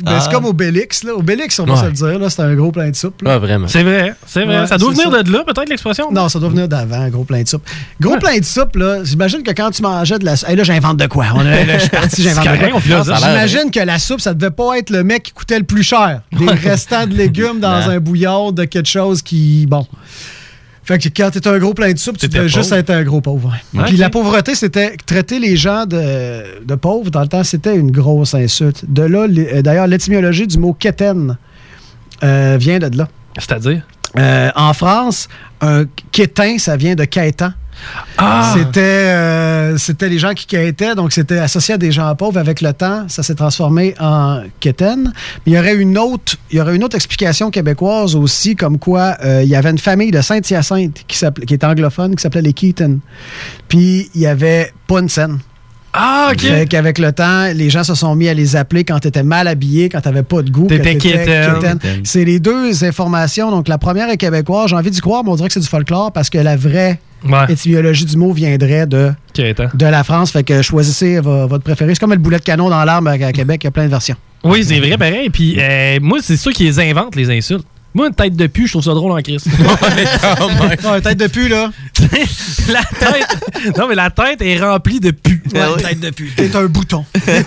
Ben, c'est comme Obélix. Là. Obélix, on va se le dire, là, c'est un gros plein de soupe. Ah, vraiment. C'est vrai. Ouais, ça doit venir de là, peut-être, l'expression? Non, ça doit venir d'avant, un gros plein de soupe. Gros plein de soupe, là, j'imagine que quand tu mangeais de la soupe... Hey, là, j'invente de quoi? Là, je suis parti, j'invente de quoi. J'imagine que la soupe, ça devait pas être le mec qui coûtait le plus cher. Des restants de légumes dans un bouillon de quelque chose qui... Bon... Fait que quand t'étais un gros plein de soupe, tu devais juste être un gros pauvre. Okay. Puis la pauvreté, c'était traiter les gens de pauvres. Dans le temps, c'était une grosse insulte. De là, d'ailleurs, l'étymologie du mot « quétaine » vient de là. C'est-à-dire? En France, un quétain, ça vient de quêtant. Ah. C'était les gens qui quêtaient, donc c'était associé à des gens pauvres. Avec le temps, ça s'est transformé en quétaine. Mais il y aurait une autre explication québécoise aussi, comme quoi il y avait une famille de Saint-Hyacinthe qui était anglophone, qui s'appelait les Keaton. Puis il y avait pas une scène. Ah, OK. Fait qu'avec le temps, les gens se sont mis à les appeler quand t'étais mal habillé, quand t'avais pas de goût. T'étais quétaine. C'est les deux informations. Donc, la première est québécoise. J'ai envie d'y croire, mais on dirait que c'est du folklore parce que la vraie étymologie du mot viendrait de la France. Fait que choisissez votre préféré. C'est comme le boulet de canon dans l'arbre à Québec. Il y a plein de versions. Oui, c'est vrai, pareil. Puis moi, c'est ça qui les invente, les insultes. Moi, une tête de pu, je trouve ça drôle en Christ. Une tête de pu, là. Non, mais la tête est remplie de pu. Ouais, une tête de pu. T'es un bouton.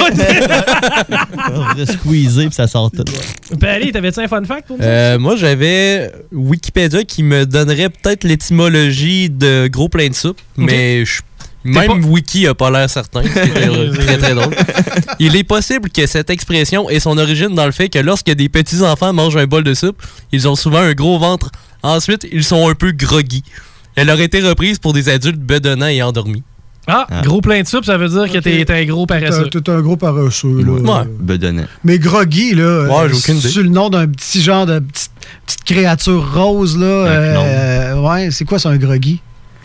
On va squeezer puis ça sort tout. Allez, t'avais-tu un fun fact pour moi? Moi, j'avais Wikipédia qui me donnerait peut-être l'étymologie de gros plein de soupe, mais même Wiki a pas l'air certain. C'est très, très drôle. Il est possible que cette expression ait son origine dans le fait que lorsque des petits-enfants mangent un bol de soupe, ils ont souvent un gros ventre. Ensuite, ils sont un peu groggy. Elle aurait été reprise pour des adultes bedonnants et endormis. Gros plein de soupe, ça veut dire que t'es un gros paresseux. T'es un gros paresseux, là. Ouais. Bedonnant. Mais groggy, là, j'ai aucune idée. C'est le nom d'un petit genre de petite créature rose, là. Ouais, c'est quoi, c'est un groggy?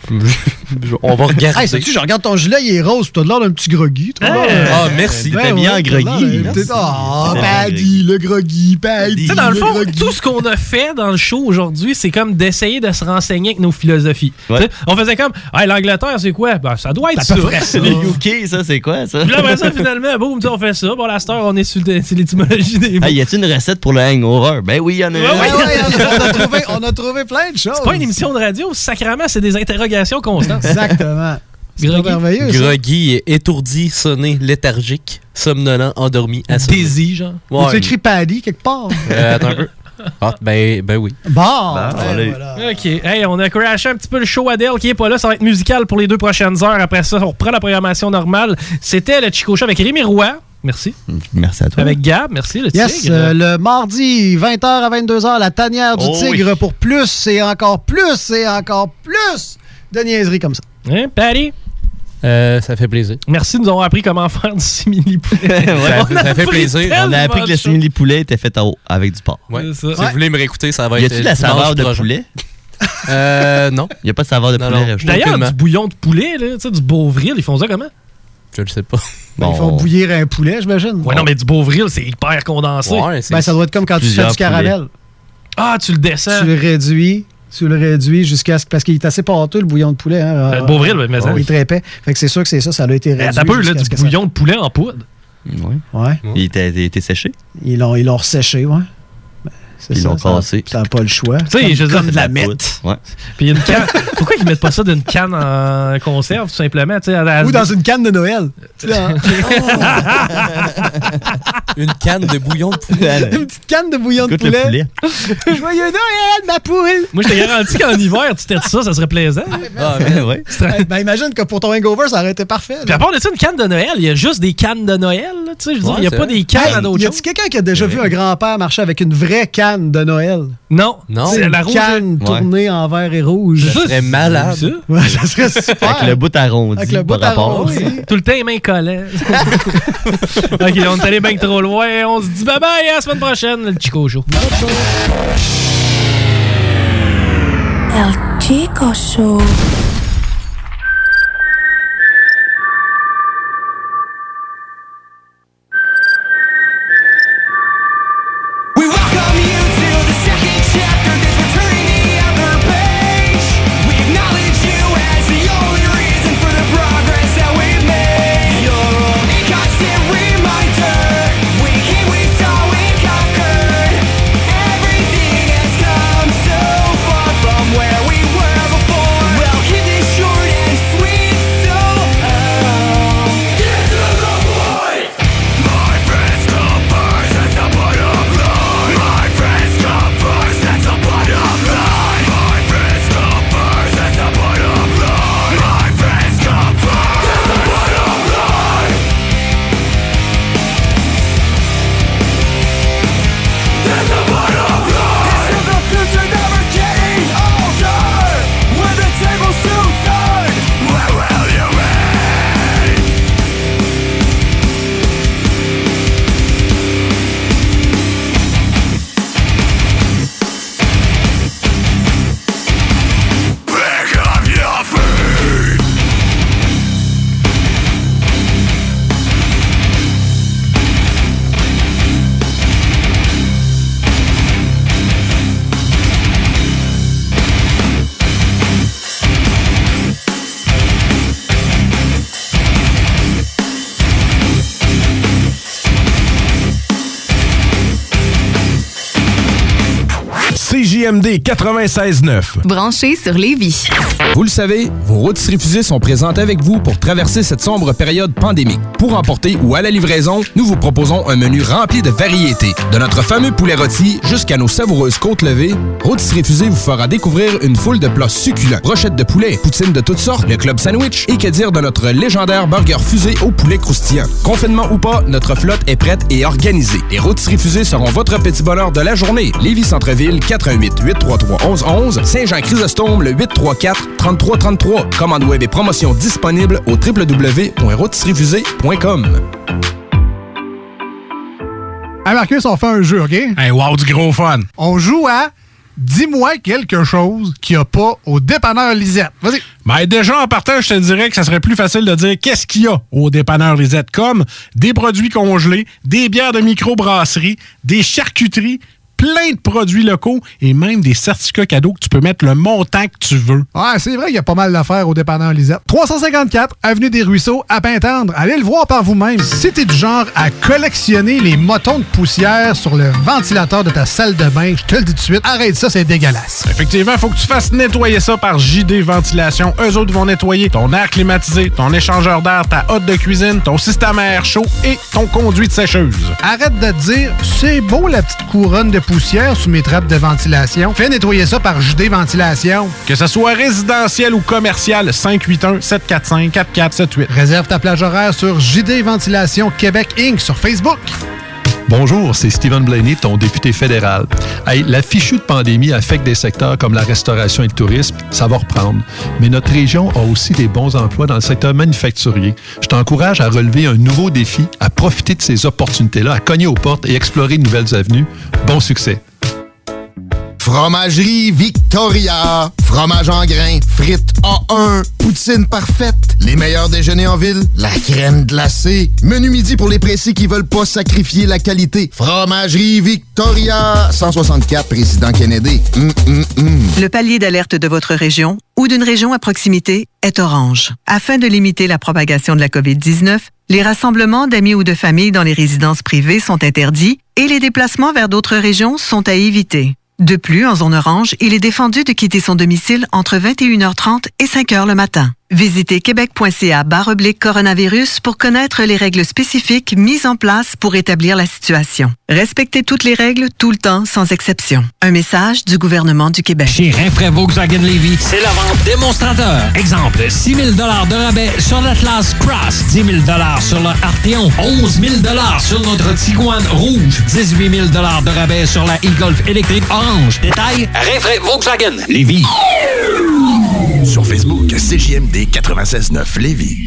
On va regarder. Hey, sais-tu, je regarde ton gilet, il est rose, pis t'as l'air d'un petit groggy. Merci. T'es bien en groggy. Paddy, le groggy, Paddy. Tu sais, dans le fond, tout ce qu'on a fait dans le show aujourd'hui, c'est comme d'essayer de se renseigner avec nos philosophies. Ouais. On faisait comme, l'Angleterre, c'est quoi? Ben, ça doit être ça. Les UK, ça, c'est quoi, ça? Puis là, après ça, finalement, boum, on fait ça. Bon, la star, on est sur l'étymologie des mots. Y a-t-il une recette pour le hangover? Ben oui, il y en a une. On a trouvé plein de choses. C'est pas une émission de radio, sacrément, c'est des interrogations constantes. Exactement. C'est merveilleux. Groggy, étourdi, sonné, léthargique, somnolent, endormi, assommé. Désy, genre. Ouais. Tu écrit Paddy quelque part? Attends un peu. Ben oui. Voilà. OK. Hey, on a crashé un petit peu le show Adele qui est pas là. Ça va être musical pour les 2 prochaines heures. Après ça, on reprend la programmation normale. C'était le Chico Show avec Rémi Roy. Merci. Merci à toi. Avec Gab, merci, le Tigre. Le mardi, 20h à 22h, la tanière du Tigre pour plus et encore plus et encore plus de niaiseries comme ça. Hein, Patty? Ça fait plaisir. Merci, nous avons appris comment faire du simili-poulet. Ça fait plaisir. On a appris que le simili-poulet était fait avec du porc. Ouais. Si vous voulez me réécouter, ça va être... Y a-t-il de la saveur de poulet? Non. Il n'y a pas de saveur de poulet. D'ailleurs, du bouillon de poulet, là, du Beauvril, ils font ça comment? Je le sais pas. Ils font bouillir un poulet, j'imagine. Ouais, non, mais du Beauvril, c'est hyper condensé. Ouais, ça doit être comme quand tu fais du caramel. Ah, tu le descends. Tu le réduis jusqu'à ce... Parce qu'il est assez pâteux, le bouillon de poulet. Hein. Le Beauvril, mais ça. Il est très épais. Fait que c'est sûr que c'est ça, ça a été réduit. T'as peu, là, du bouillon de poulet en poudre. Ouais. Il était séché? Ils l'ont resséché, ouais. Ils l'ont cassé. Ça n'a pas le choix. Tu sais, je veux dire, de la mettre. Ouais. Puis une canne. Pourquoi ils mettent pas ça d'une canne en conserve, tout simplement? Ou dans une canne de Noël. Une canne de bouillon de poulet. Une petite canne de bouillon de poulet. Joyeux Noël, ma poule! Moi, je te garantis qu'en hiver, tu têtes ça serait plaisant. Ouais. Ben, imagine que pour ton hangover, ça aurait été parfait. Puis à part de ça, une canne de Noël, il y a juste des cannes de Noël. Tu sais, je veux dire, il n'y a pas des cannes à d'autres choses. Y a-t-il quelqu'un qui a déjà vu un grand-père marcher avec une vraie canne de Noël? Non. C'est la canne tournée en vert et rouge. Ça serait malade. Ouais, ça serait super. Avec le bout arrondi. Avec le bout arrondi. Tout le temps, les mains collées. OK, on est allé bien trop loin. On se dit bye-bye à la semaine prochaine, le Chico Show. El Chico Show. We CJMD 96.9. Branché sur Lévis. Vous le savez, vos rôtisseries fusées sont présentes avec vous pour traverser cette sombre période pandémique. Pour emporter ou à la livraison, nous vous proposons un menu rempli de variétés. De notre fameux poulet rôti jusqu'à nos savoureuses côtes levées, Rôtisseries fusées vous fera découvrir une foule de plats succulents. Brochettes de poulet, poutines de toutes sortes, le club sandwich et que dire de notre légendaire burger fusé au poulet croustillant. Confinement ou pas, notre flotte est prête et organisée. Les Rôtisseries fusées seront votre petit bonheur de la journée. Lévis Centre-Ville, 418-833-1111. Saint-Jean-Chrysostome, le 834-3333. Commande web et promotion disponible au www.rôtisseriesfusées.com. Hey Marcus, on fait un jeu, OK? Hey, wow, du gros fun! On joue à Dis-moi quelque chose qu'il n'y a pas au dépanneur Lisette. Vas-y. Ben déjà, en partant, je te dirais que ça serait plus facile de dire qu'est-ce qu'il y a au dépanneur Lisette, comme des produits congelés, des bières de microbrasserie, des charcuteries, plein de produits locaux et même des certificats cadeaux que tu peux mettre le montant que tu veux. Ouais, c'est vrai qu'il y a pas mal d'affaires au dépanneur Lisette. 354 Avenue des Ruisseaux, à Pintendre. Allez le voir par vous-même. Si t'es du genre à collectionner les motons de poussière sur le ventilateur de ta salle de bain, je te le dis tout de suite, arrête ça, c'est dégueulasse. Effectivement, il faut que tu fasses nettoyer ça par JD Ventilation. Eux autres vont nettoyer ton air climatisé, ton échangeur d'air, ta hotte de cuisine, ton système à air chaud et ton conduit de sécheuse. Arrête de te dire, c'est beau la petite couronne de poussière sous mes trappes de ventilation. Fais nettoyer ça par JD Ventilation. Que ce soit résidentiel ou commercial, 581-745-4478. Réserve ta plage horaire sur JD Ventilation Québec Inc. sur Facebook. Bonjour, c'est Stephen Blaney, ton député fédéral. Hey, la fichue de pandémie affecte des secteurs comme la restauration et le tourisme, ça va reprendre. Mais notre région a aussi des bons emplois dans le secteur manufacturier. Je t'encourage à relever un nouveau défi, à profiter de ces opportunités-là, à cogner aux portes et explorer de nouvelles avenues. Bon succès! Fromagerie Victoria. Fromage en grains, frites A1, poutine parfaite, les meilleurs déjeuners en ville, la crème glacée, menu midi pour les pressés qui veulent pas sacrifier la qualité. Fromagerie Victoria. 164 Président Kennedy. Le palier d'alerte de votre région ou d'une région à proximité est orange. Afin de limiter la propagation de la COVID-19, les rassemblements d'amis ou de familles dans les résidences privées sont interdits et les déplacements vers d'autres régions sont à éviter. De plus, en zone orange, il est défendu de quitter son domicile entre 21h30 et 5h le matin. Visitez québec.ca/coronavirus pour connaître les règles spécifiques mises en place pour établir la situation. Respectez toutes les règles tout le temps, sans exception. Un message du gouvernement du Québec. Chez Rinfraie Volkswagen Lévis, c'est la vente démonstrateur. Exemple, 6 000 $ de rabais sur l'Atlas Cross, 10 000 $ sur le Arteon, 11 000 $ sur notre Tiguan Rouge, 18 000 $ de rabais sur la e-Golf électrique orange. Détail, Rinfraie Volkswagen Lévis. Sur Facebook, CJMD 96.9 Lévis.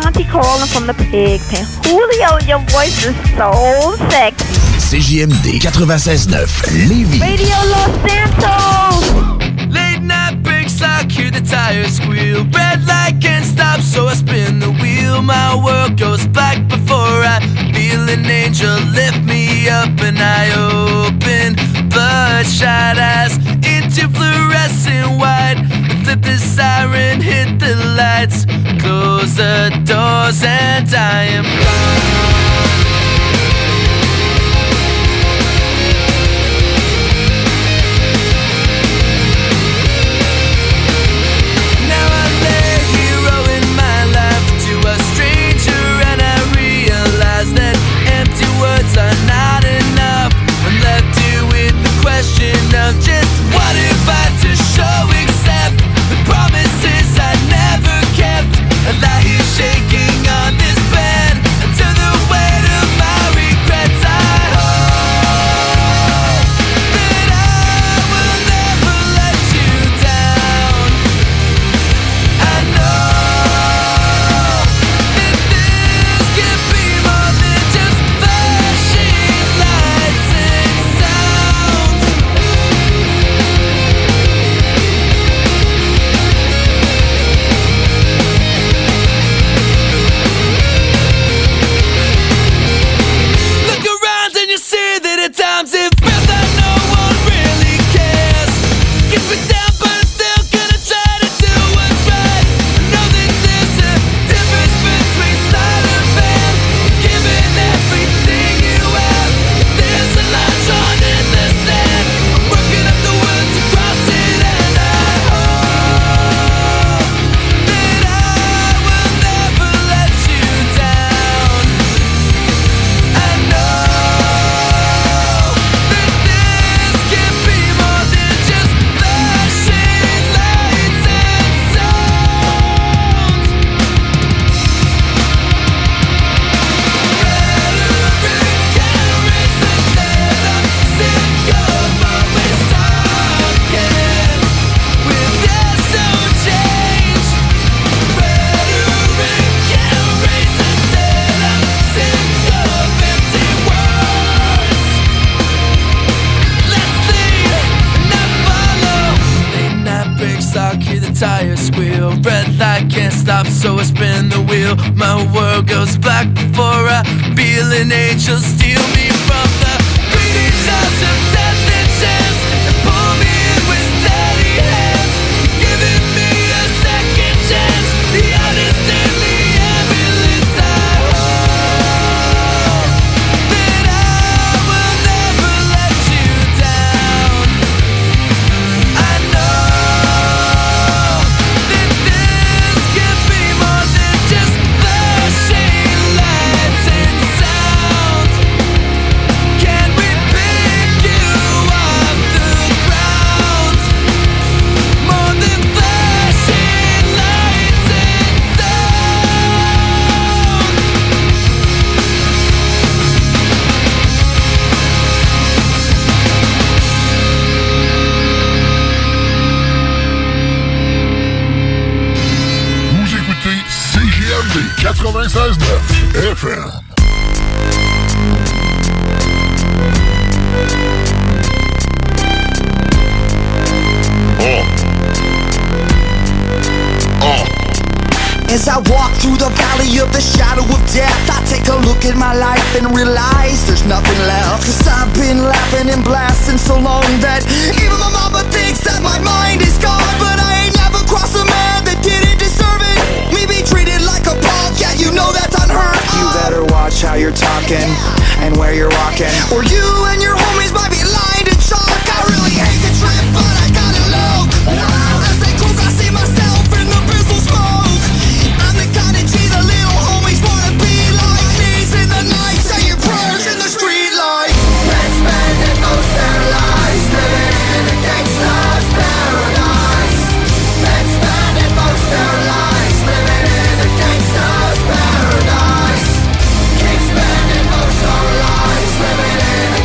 Auntie Carolyn from the Pig Pen. Julio, your voice is so sexy. CJMD 96.9 Lévis. Radio Los Santos. Late night breaks, I hear the tires squeal. Red light can't stop, so I spin the wheel. My world goes black before I feel an angel lift me up, and I open bloodshot eyes into fluorescent white. Flip the siren, hit the lights, close the doors, and I am gone. Are not enough. I'm left here with the question of just what if I to show accept the promises I never kept. I lie here shaking on this bed until the weight of my regrets. I hope that I will never let you down. I know that this can be more than just times it feels like no one really cares. Get me down, but I'm still gonna try to do what's right. I know that there's a difference between sleight of hand, giving everything you have. There's a line drawn in the sand. I'm working up the words to cross it, and I hope that I will never let you down. I know tires squeal, red light can't stop, so I spin the wheel. My world goes black before I feel an angel steal me from the bleeding jaws of death and chance, and pull me in with steady hands, giving me a second chance. The honest and the ambulance. I hope that I will never let you down. I know CJMD 96.9 FM. As I walk through the valley of the shadow of death, I take a look at my life and realize there's nothing left. Cause I've been laughing and blasting so long that even my mama thinks that my mind is gone. But I ain't never crossed a man that didn't deserve it. Me be treated like a punk, yeah, you know that's unheard of. You better watch how you're talking and where you're walking, or you and your homies might be lined in chalk. I really hate the trip, but I gotta look. As they cook, I see myself in the pistol smoke. I'm the kind of G the little homies wanna be like. Knees in the night, say your prayers in the street light. Let's spend it most their lives living in a gangsta's paradise. Let's spend it most their lives living in a gangsta's paradise. Keep spending most our lives living in a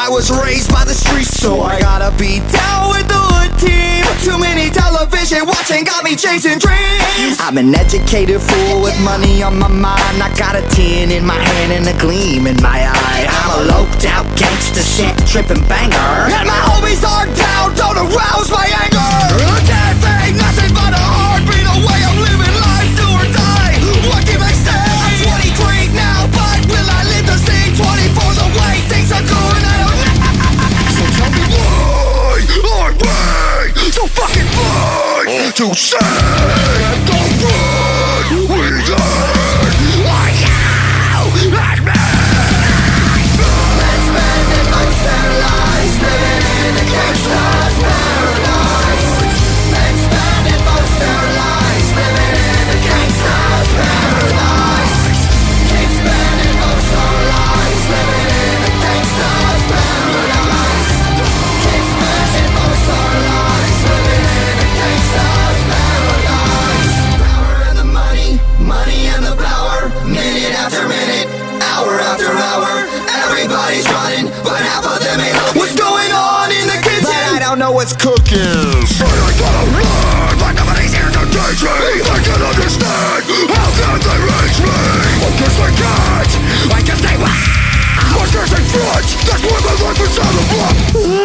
I was raised by the streets, so I gotta be down with the hood team. Too many television watching got me chasing dreams. I'm an educated fool with money on my mind. I got a 10 in my hand and a gleam in my eye. I'm a loped out gangster shit tripping banger, and my homies are down, don't arouse my anger. Can't fake nothing but a heartbeat away. I'm living life, do or die. What can I say? I'm 23 now, but will I live to see 24 the way things are going? I don't know. So tell me why I'm way so fucking blind to say the road we learn. Why you and me? Let's spend it most their lives living in a gangster's paradise. Let's spend it most their lives living in a gangster's paradise. Keep spending most our lives living in a gangster's paradise. Keep spending most our lives living in a gangster's paradise. Power and the money, money and the power. Minute after minute, hour after hour. Everybody's running, but half of them ain't looking. What's going on in the kitchen? But I don't know what's cooking. So I gotta run, but nobody's here to teach me. I can't understand, how can they reach me? I guess they can't, I guess they will. I guess they front, that's why my life is out of luck.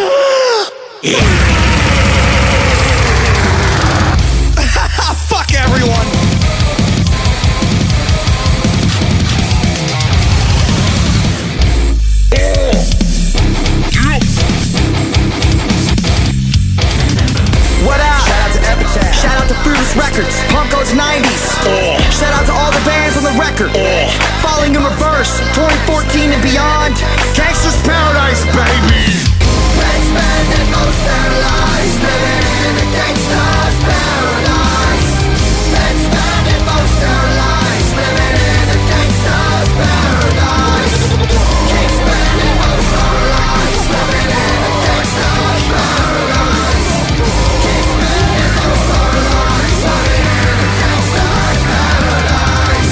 Fuck everyone. What up? Shout out to Epitaph. Shout out to Fruitless Records. Punk goes 90s. Shout out to all the bands on the record. Falling in Reverse, 2014 and beyond. Gangsta's Paradise, baby. Let's spend it most their lives living in a gangsta's paradise. Let's spend it most their lives living in a gangsta's paradise. Keep spending most our lives living in a gangsta's paradise. Keep spending most our lives living in a gangsta's paradise.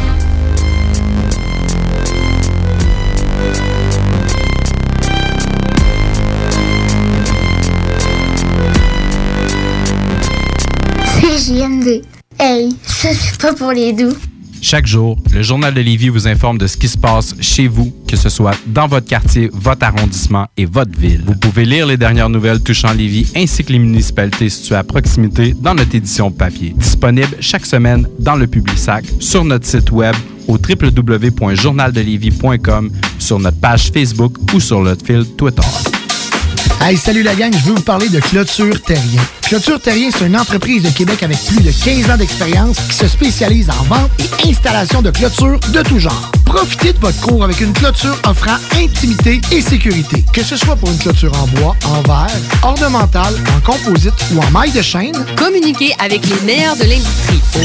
CJMD. Hey, ça c'est pas pour les doux. Chaque jour, le Journal de Lévis vous informe de ce qui se passe chez vous, que ce soit dans votre quartier, votre arrondissement et votre ville. Vous pouvez lire les dernières nouvelles touchant Lévis ainsi que les municipalités situées à proximité dans notre édition papier. Disponible chaque semaine dans le Publisac, sur notre site web au www.journaldelévis.com, sur notre page Facebook ou sur notre fil Twitter. Hey, salut la gang, je veux vous parler de Clôture Terrien. Clôture Terrien, c'est une entreprise de Québec avec plus de 15 ans d'expérience qui se spécialise en vente et installation de clôtures de tout genre. Profitez de votre cour avec une clôture offrant intimité et sécurité. Que ce soit pour une clôture en bois, en verre, ornementale, en composite ou en maille de chaîne, communiquez avec les meilleurs de l'industrie au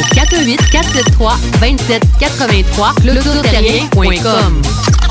418-473-2783 clôtureterrien.com.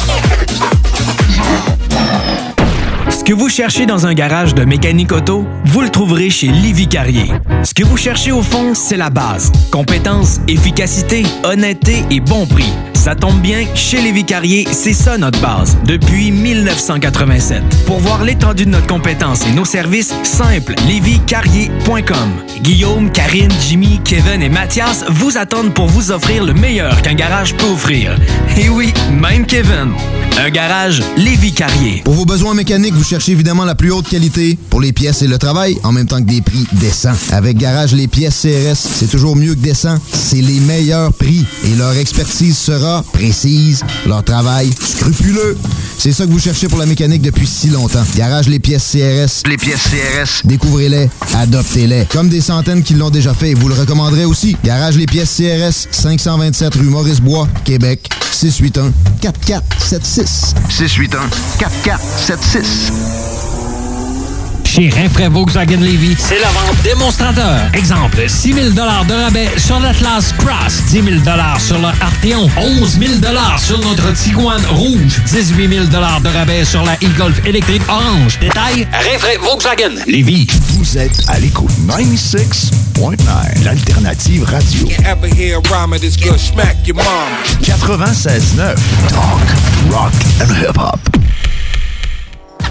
Ce que vous cherchez dans un garage de mécanique auto, vous le trouverez chez Lévis Carrier. Ce que vous cherchez au fond, c'est la base. Compétence, efficacité, honnêteté et bon prix. Ça tombe bien, chez Lévis Carrier, c'est ça notre base, depuis 1987. Pour voir l'étendue de notre compétence et nos services, simple, léviscarrier.com. Guillaume, Karine, Jimmy, Kevin et Mathias vous attendent pour vous offrir le meilleur qu'un garage peut offrir. Et oui, même Kevin. Un garage Lévis Carrier. Pour vos besoins mécaniques, vous cherchez évidemment la plus haute qualité pour les pièces et le travail, en même temps que des prix décents. Avec Garage Les Pièces CRS, c'est toujours mieux que décent. C'est les meilleurs prix et leur expertise sera précise, leur travail scrupuleux. C'est ça que vous cherchez pour la mécanique depuis si longtemps. Garage Les Pièces CRS. Les pièces CRS. Découvrez-les, adoptez-les. Comme des centaines qui l'ont déjà fait et vous le recommanderez aussi. Garage Les Pièces CRS, 527 rue Maurice-Bois, Québec, 681-4476. 681-4476. Chez Rinfraie Volkswagen Lévis, c'est la vente démonstrateur. Exemple, 6 000 de rabais sur l'Atlas Cross, 10 000 sur le Arteon, 11 000 sur notre Tiguan Rouge, 18 000 de rabais sur la e-Golf électrique orange. Détail, Rinfraie Volkswagen Lévis. Vous êtes à l'écoute 96.9, l'alternative radio. 96.9, talk, rock and hip-hop.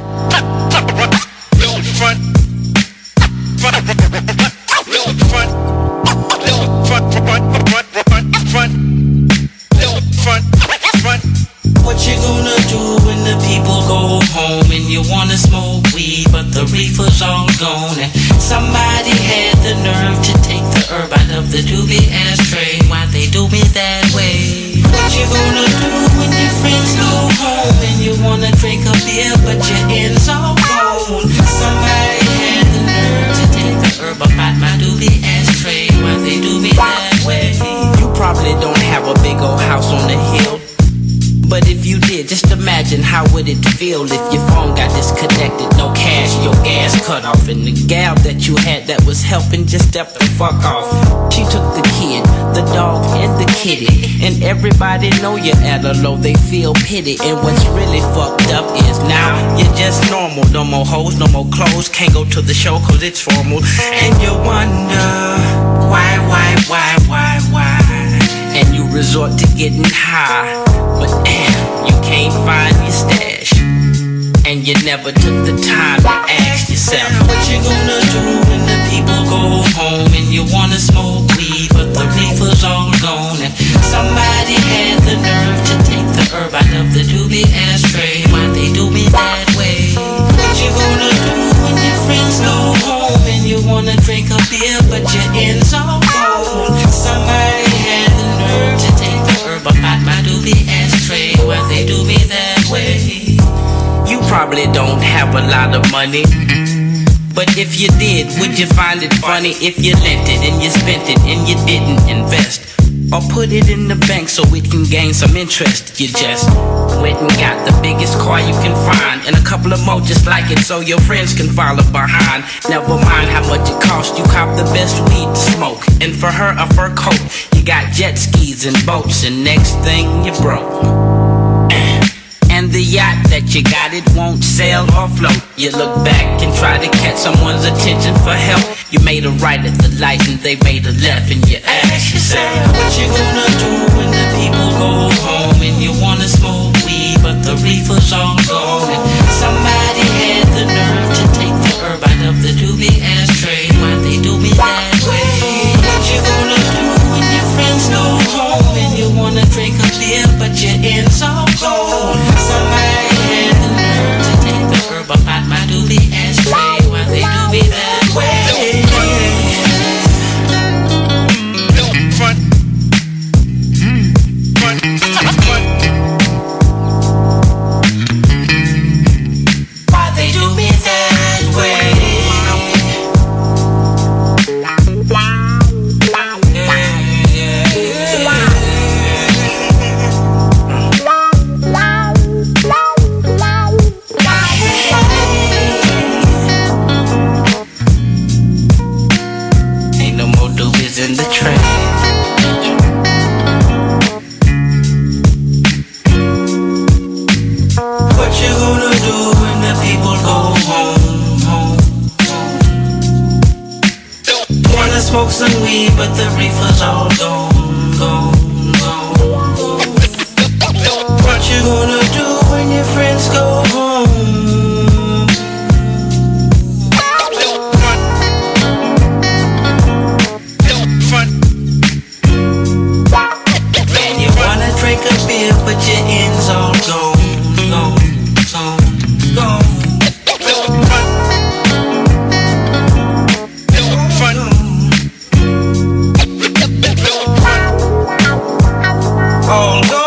that way? What you gonna do when your friends go home and you wanna drink a beer but your ends all gone? Somebody had the nerve to take the herb up out my doobie ashtray. Why they do me that way? You probably don't have a big old house on the hill, but if you did, just imagine how would it feel if your phone got disconnected, no cash, your gas cut off, and the gal that you had that was helping just stepped the fuck off. She took the kid, the dog, and the kitty, and everybody know you're at a low, they feel pity. And what's really fucked up is now you're just normal. No more hoes, no more clothes, can't go to the show cause it's formal. And you wonder why? And you resort to getting high, but damn, you can't find your stash. And you never took the time to ask yourself, what you gonna do when the people go home and you wanna smoke weed, but the reefer's all gone? And somebody had the nerve to take the herb out of the doobie ashtray. Why they do me that way? What you gonna do when your friends go home and you wanna drink a beer, but your ends all gone? Somebody had the nerve to take the herb out my doobie ashtray. Why they do me that way? You probably don't have a lot of money, but if you did, would you find it funny if you lent it and you spent it and you didn't invest? Or put it in the bank so it can gain some interest? You just went and got the biggest car you can find and a couple of more just like it so your friends can follow behind. Never mind how much it cost, you cop the best weed to smoke, and for her a fur coat. You got jet skis and boats, and next thing you broke. And the yacht that you got, it won't sail or float. You look back and try to catch someone's attention for help. You made a right at the light and they made a left, and you ask yourself, what you gonna do when the people go home and you wanna smoke weed, but the reefer's all gone? And somebody had the nerve to take the herb out of the doobie ashtray. Why they do me that way? What you gonna do when your friends go home and you wanna drink a beer, but your ends all gone? Somebody had the nerve to take the herb up out my doobie ashtray. Why they do me that way? Why they do me that way? In the train. What you gonna do when the people go home? Wanna smoke some weed, but the reefer's all gone. What you gonna do when your friends go home? Drink a beer, but your ends all gone. All gone.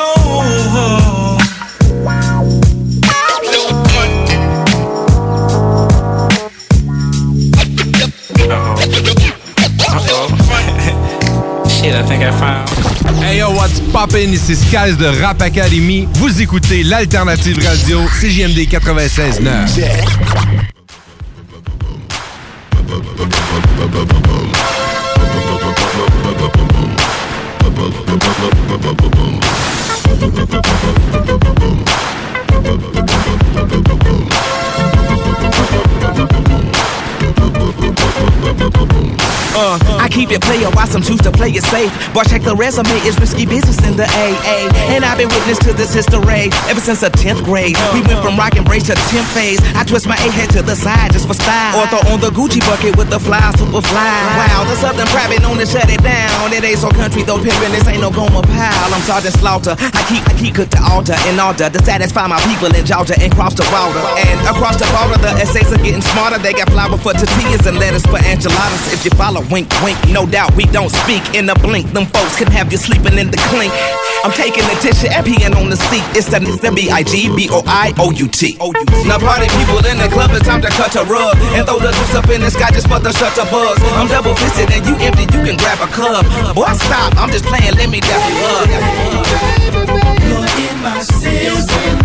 Shit, I think I found. Hey yo, what's poppin'? Ici Skies de Rap Academy. Vous écoutez l'Alternative Radio, CJMD 96.9. Yeah. I keep it player, why some choose to play it safe. Boy, check the resume, it's risky business in the AA. And I've been witness to this history ever since the 10th grade. We went from rock and brace to the 10th phase. I twist my A-head to the side just for style. Or throw on the Gucci bucket with the fly, super fly. Wow, the Southern private known to shut it down. It ain't so country though, pimpin', this ain't no Goma pile. I'm Sergeant Slaughter, I keep cook the altar in order to satisfy my people in Georgia and cross the water. And across the border, the essays are getting smarter. They got flour for tortillas and lettuce for enchiladas. If you follow, wink, wink, No doubt we don't speak in a blink. Them folks can have you sleeping in the clink. I'm taking attention and peeing on the seat. It's the B-I-G-B-O-I-O-U-T. Now party people in the club, it's time to cut a rug and throw the juice up in the sky just for the shutter buzz. I'm double fisted and you empty, you can grab a cup. Boy, stop, I'm just playing, let me dap you up. You're in my system,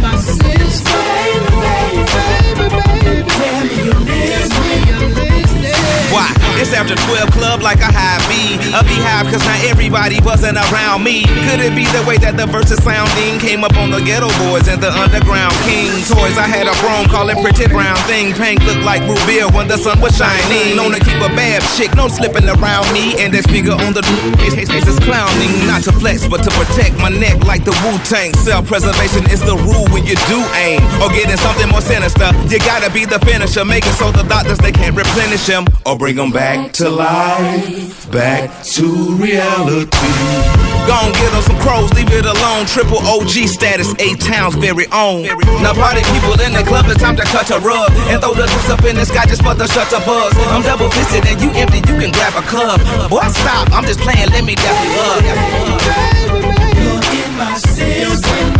Why? It's after 12 club like a high B. A beehive cause not everybody wasn't around me. Could it be the way that the verses sounding came up on the ghetto boys and the underground king toys? I had a broom call it pretty brown thing. Pink looked like Rubia when the sun was shining. Known to keep a bad chick, no slipping around me. And that figure on the face is clowning. Not to flex but to protect my neck like the Wu-Tang. Self-preservation is the rule when you do aim. Or getting something more sinister, you gotta be the finisher. Make it so the doctors they can't replenish him or bring them back to life, back to reality. Gon' get on some crows, leave it alone. Triple OG status, 8 towns very own. Now party people in the club, it's time to cut a rug and throw the juice up in the sky just for the shutter buzz. I'm double fisted and you empty, you can grab a cup. Boy, stop, I'm just playing, let me dap you up. You're in my system,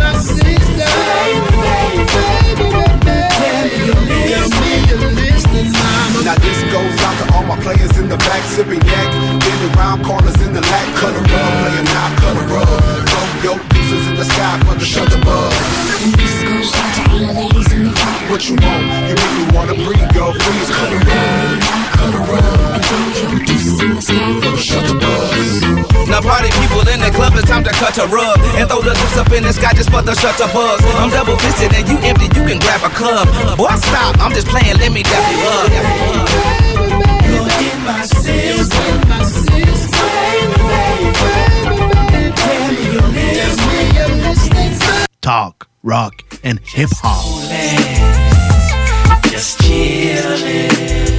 Now this goes out to all my players in the back, sipping yak, getting around corners in the lack, cut a rug, playing now, cut a rug. Throw your deuces in the sky for the shutter buzz. This goes out to all the ladies in the front. What you want? You make me wanna breathe, girl, freeze, cut a rug, cut a rug. And throw your deuces in the sky for the shutter buzz. Now party people in the club, it's time to cut a rug and throw the juice up in the sky just for the shutter buzz. I'm double fisted and you empty, you can grab a cup. Boy, stop, I'm just playing, let me dap you up. You're in my system, Talk, rock, and hip hop. just chillin',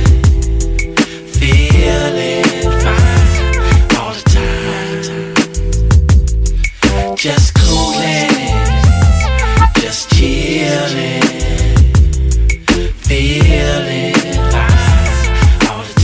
feeling fine all the time. Just coolin', just chillin', feeling fine all the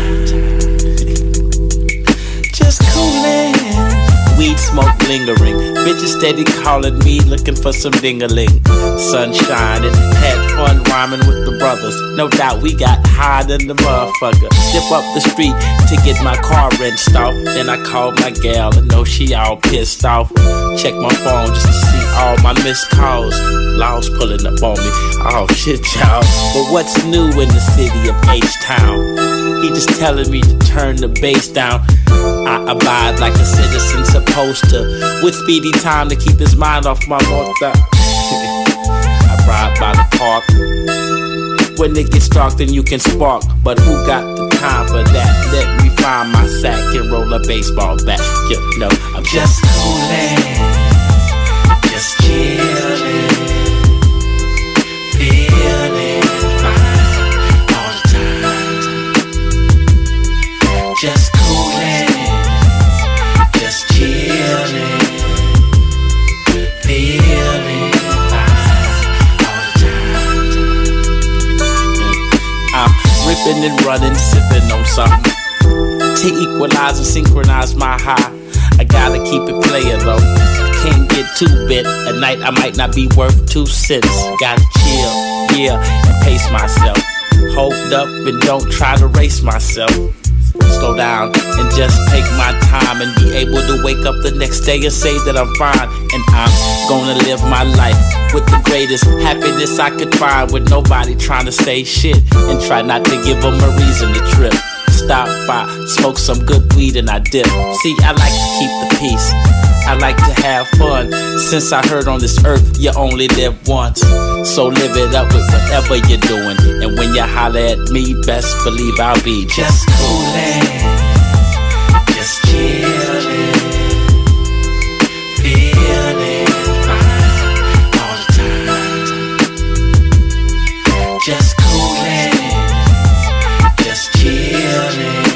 time. Just coolin'. Weed smoke lingering. Bitches steady calling me, looking for some ding-a-ling. Sun shining, had fun rhyming with the brothers. No doubt we got high than the motherfucker. Dip up the street to get my car wrenched off. Then I called my gal and know she all pissed off. Check my phone just to see all my missed calls. Laws pulling up on me. Oh shit, y'all. But what's new in the city of H-Town? He just telling me to turn the bass down. I abide like a citizen supposed to, with speedy time to keep his mind off my mother. I ride by the park. When it gets dark, then you can spark. But who got the time for that? Let me find my sack and roll a baseball bat. You know, I'm just coolin', just chillin', feeling fine all the time. Just coolin', just chillin', feeling fine all the time. I'm ripping and running, sipping on something to equalize and synchronize my high. I gotta keep it playin' though. I can't get too bit. At night I might not be worth 2 cents. Gotta chill, yeah, and pace myself. Hold up and don't try to race myself. Slow down and just take my time and be able to wake up the next day and say that I'm fine. And I'm gonna live my life with the greatest happiness I could find, with nobody trying to say shit and try not to give them a reason to trip. Stop by, smoke some good weed and I dip. See, I like to keep the peace, I like to have fun. Since I heard on this earth you only live once, so live it up with whatever you're doing. And when you holler at me, best believe I'll be just coolin', just chillin', feeling fine all the time. Just coolin', just chillin',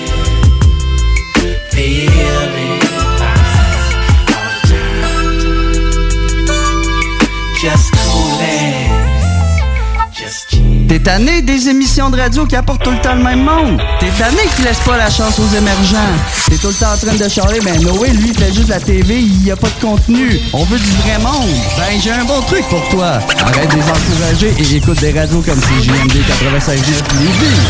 feeling fine all the time. Just coolin', just chillin'. T'es tanné des émissions de radio qui apportent tout le temps le même monde. T'es tanné qui laisse pas la chance aux émergents. T'es tout le temps en train de charler, ben Noé, lui, fait juste la TV, il y a pas de contenu. On veut du vrai monde. Ben, j'ai un bon truc pour toi. Arrête de les encourager et écoute des radios comme CJMD 96.9 Lévis.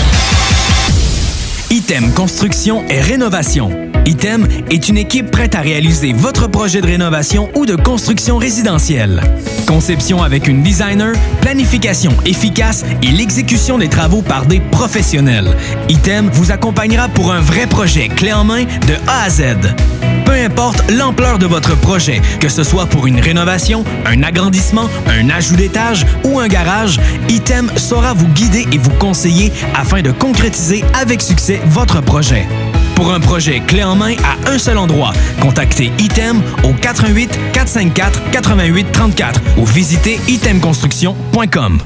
Item Construction et Rénovation. Item est une équipe prête à réaliser votre projet de rénovation ou de construction résidentielle. Conception avec une designer, planification efficace et l'exécution des travaux par des professionnels. Item vous accompagnera pour un vrai projet clé en main de A à Z. Peu importe l'ampleur de votre projet, que ce soit pour une rénovation, un agrandissement, un ajout d'étage ou un garage, Item saura vous guider et vous conseiller afin de concrétiser avec succès votre projet. Pour un projet clé en main à un seul endroit, contactez Item au 88 454 88 34 ou visitez itemconstruction.com.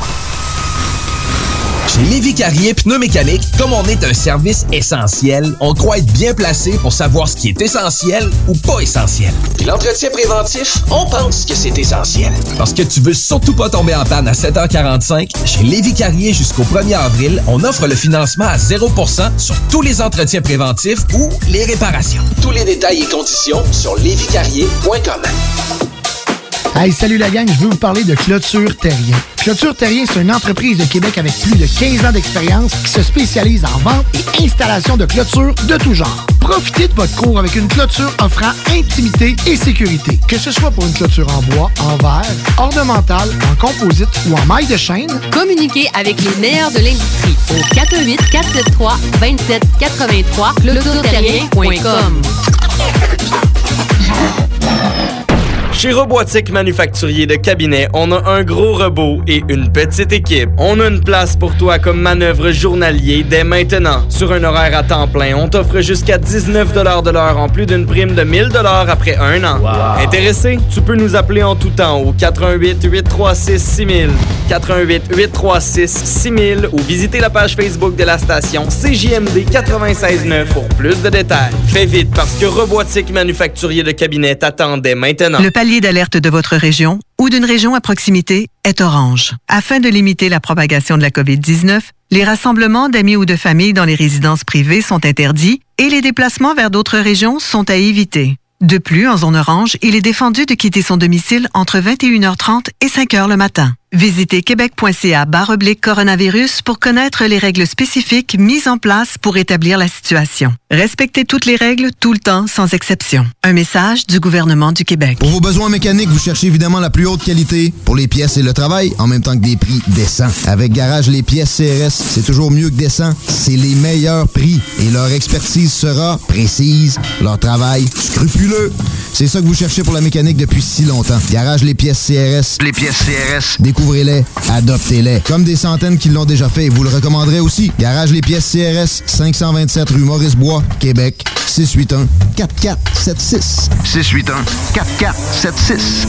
Chez Lévis Carrier Pneumécanique, comme on est un service essentiel, on croit être bien placé pour savoir ce qui est essentiel ou pas essentiel. Puis l'entretien préventif, on pense que c'est essentiel. Parce que tu veux surtout pas tomber en panne à 7h45, chez Lévis Carrier jusqu'au 1er avril, on offre le financement à 0% sur tous les entretiens préventifs ou les réparations. Tous les détails et conditions sur léviscarrier.com. Hey, salut la gang, je veux vous parler de Clôture Terrien. Clôture Terrien, c'est une entreprise de Québec avec plus de 15 ans d'expérience qui se spécialise en vente et installation de clôtures de tout genre. Profitez de votre cour avec une clôture offrant intimité et sécurité. Que ce soit pour une clôture en bois, en verre, ornementale, en composite ou en maille de chaîne, communiquez avec les meilleurs de l'industrie au 418-473-2783 clôtureterrien.com. Chez Robotique Manufacturier de Cabinet, on a un gros robot et une petite équipe. On a une place pour toi comme manœuvre journalier dès maintenant. Sur un horaire à temps plein, on t'offre jusqu'à 19 $ de l'heure en plus d'une prime de 1000 $ après un an. Wow. Intéressé? Tu peux nous appeler en tout temps au 88 836 6000, 88 836 6000 ou visiter la page Facebook de la station CJMD 96.9 pour plus de détails. Fais vite parce que Robotique Manufacturier de Cabinet t'attend dès maintenant. Le palier d'alerte de votre région ou d'une région à proximité est orange. Afin de limiter la propagation de la COVID-19, les rassemblements d'amis ou de familles dans les résidences privées sont interdits et les déplacements vers d'autres régions sont à éviter. De plus, en zone orange, il est défendu de quitter son domicile entre 21h30 et 5h le matin. Visitez québec.ca/coronavirus pour connaître les règles spécifiques mises en place pour établir la situation. Respectez toutes les règles tout le temps, sans exception. Un message du gouvernement du Québec. Pour vos besoins mécaniques, vous cherchez évidemment la plus haute qualité pour les pièces et le travail, en même temps que des prix décents. Avec Garage Les Pièces CRS, c'est toujours mieux que décent. C'est les meilleurs prix et leur expertise sera précise, leur travail scrupuleux. C'est ça que vous cherchez pour la mécanique depuis si longtemps. Garage Les Pièces CRS. Les pièces CRS. Découvrez-les, adoptez-les. Comme des centaines qui l'ont déjà fait et vous le recommanderez aussi. Garage Les Pièces CRS, 527 rue Maurice-Bois, Québec, 681-4476. 681-4476.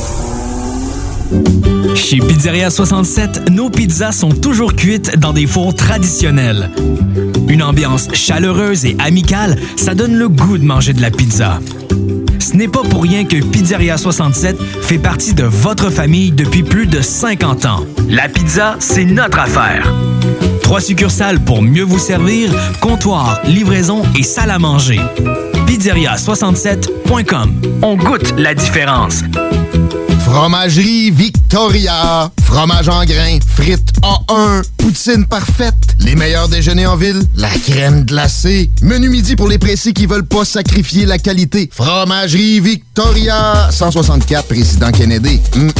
Chez Pizzeria 67, nos pizzas sont toujours cuites dans des fours traditionnels. Une ambiance chaleureuse et amicale, ça donne le goût de manger de la pizza. Ce n'est pas pour rien que Pizzeria 67 fait partie de votre famille depuis plus de 50 ans. La pizza, c'est notre affaire. 3 succursales pour mieux vous servir, comptoir, livraison et salle à manger. Pizzeria67.com. On goûte la différence. Fromagerie Victoria. Fromage en grains, frites A1, poutine parfaite, les meilleurs déjeuners en ville, la crème glacée, menu midi pour les pressés qui veulent pas sacrifier la qualité. Fromagerie Victoria. 164 Président Kennedy.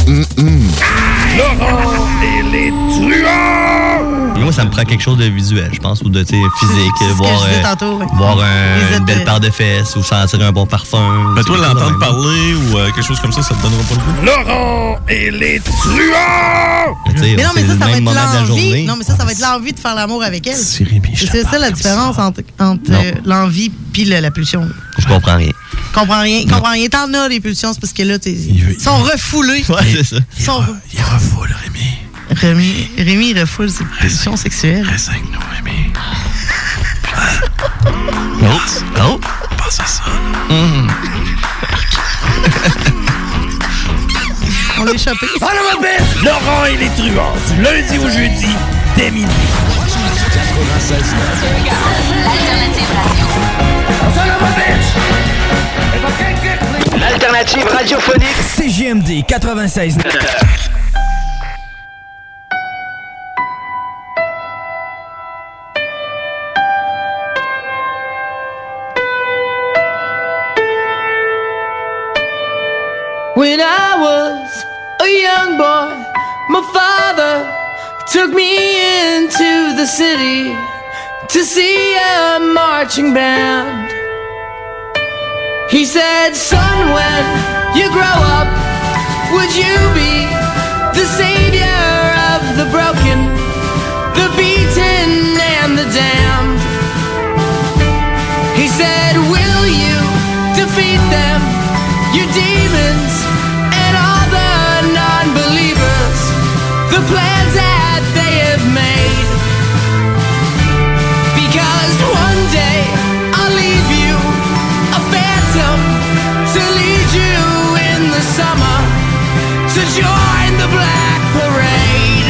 Laurent et les truands! Moi, ça me prend quelque chose de visuel, je pense, ou de physique. Voir une belle paire de fesses ou sentir un bon parfum. Mais toi, l'entendre parler ou quelque chose comme ça te donnera pas le goût. Laurent et les truands! Mais non, mais ça va être l'envie. Non, mais ça va être l'envie de faire l'amour avec elle. C'est ça la différence entre l'envie puis la pulsion. Je comprends rien. Comprends rien. T'en as les pulsions, c'est parce que là, ils sont refoulés. Ouais, c'est ça. Il refoule, Rémi. Rémi, il refoule ses pulsions sexuelles. Reste avec nous, Rémi. Oh! Pense à ça, On l'a échappé. Ah non, ma bête! Laurent et les truands, du lundi au jeudi, dès minuit. 96.9. L'alternative radio. L'alternative radiophonique. CJMD 96.9. When I was a young boy, my father took me into the city to see a marching band. He said, son, when you grow up, would you be the savior of the broken, the beaten, and the damned? He said, will you defeat them, your demons, and all the non-believers, the plans that they have made? Because one day I'll leave you a phantom to lead you in the summer to join the Black Parade.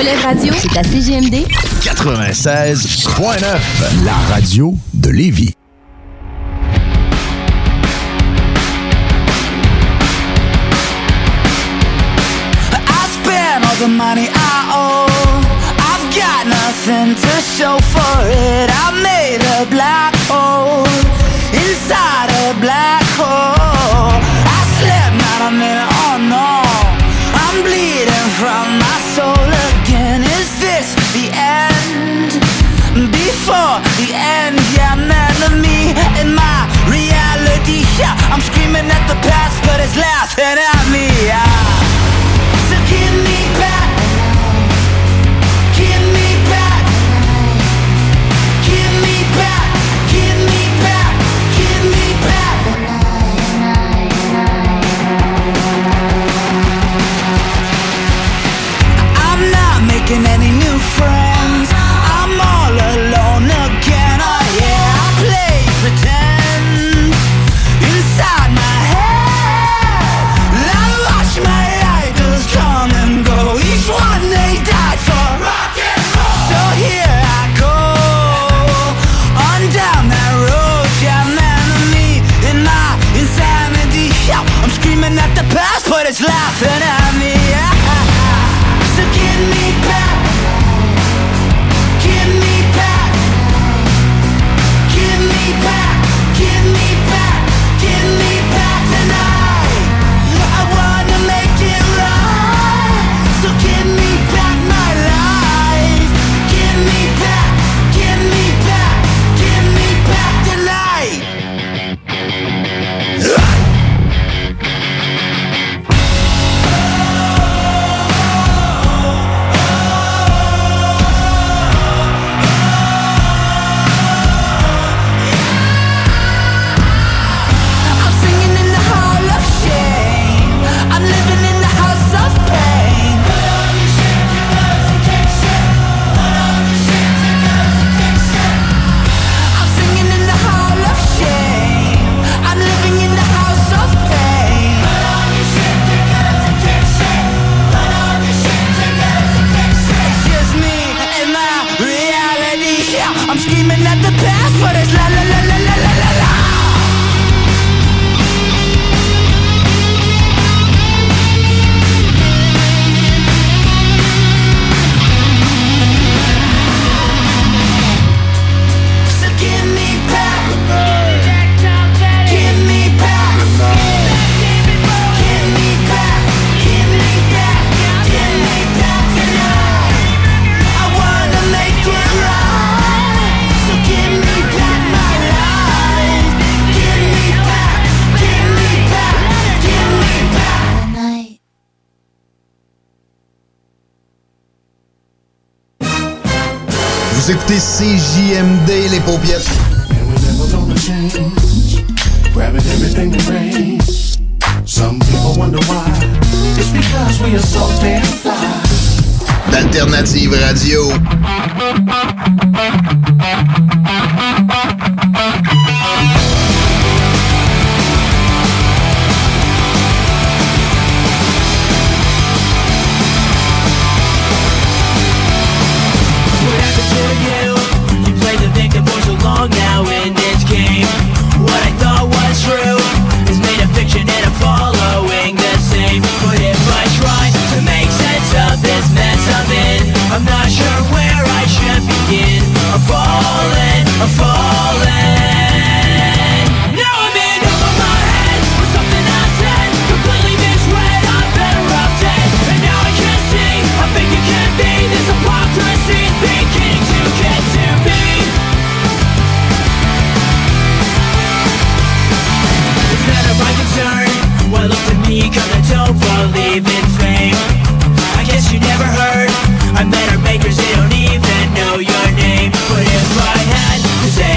Relève Radio, c'est à CGMD 96.9, la radio de Lévis. The money I owe, I've got nothing to show for it. I made a black hole inside a black hole. I slept not a minute, oh no, I'm bleeding from my soul again. Is this the end? Before the end, yeah, I'm enemy in my reality. Yeah, I'm screaming at the past, but it's laughing at me. So give me back, give me back, give me back, give me back, give me back. I'm not making any new friends, I'm all alone again. Oh yeah, I play pretend inside my head. I watch my come and go, each one they died for rock and roll. So here I go, on down that road. Yeah, man of me in my insanity. Yeah, I'm screaming at the past, but it's laughing at me. So give me back, give me back, give me back, give me back, give me back tonight. I wanna make it right. So give me back my life. Give me back, give me back, give me back tonight. I'm singing in the hall of shame. I'm living in the house of pain. I'm singing in the hall of shame. I'm living in the house of pain. It's just me and my reality. Yeah, I'm screaming at the past, but it's la la la la la la la la. So give me back, give me back, give me back, give me back, give me back tonight. I wanna make it right. So give me back my life. Give me back, give me back, give me back tonight. Vous écoutez CJMD, les paupiètes. Grabbing everything that rains. Some people wonder why. It's because we are so damn fly. D'Alternative Radio. What happened to you? You played the victim for so long now in this game. What I thought was true is made a fiction and I'm following the same. But if I try to make sense of this mess I'm in, I'm not sure where I should begin. I'm falling, I'm falling. Now I'm in over my head with something I said, completely misread. I'm better off dead. And now I can see, I think it can be. This hypocrisy is beginning to get to me. It's none of my concern. Well, look to me, cause I don't believe in fame. I guess you never heard. I'm better makers, they don't even know your name. But if I had to say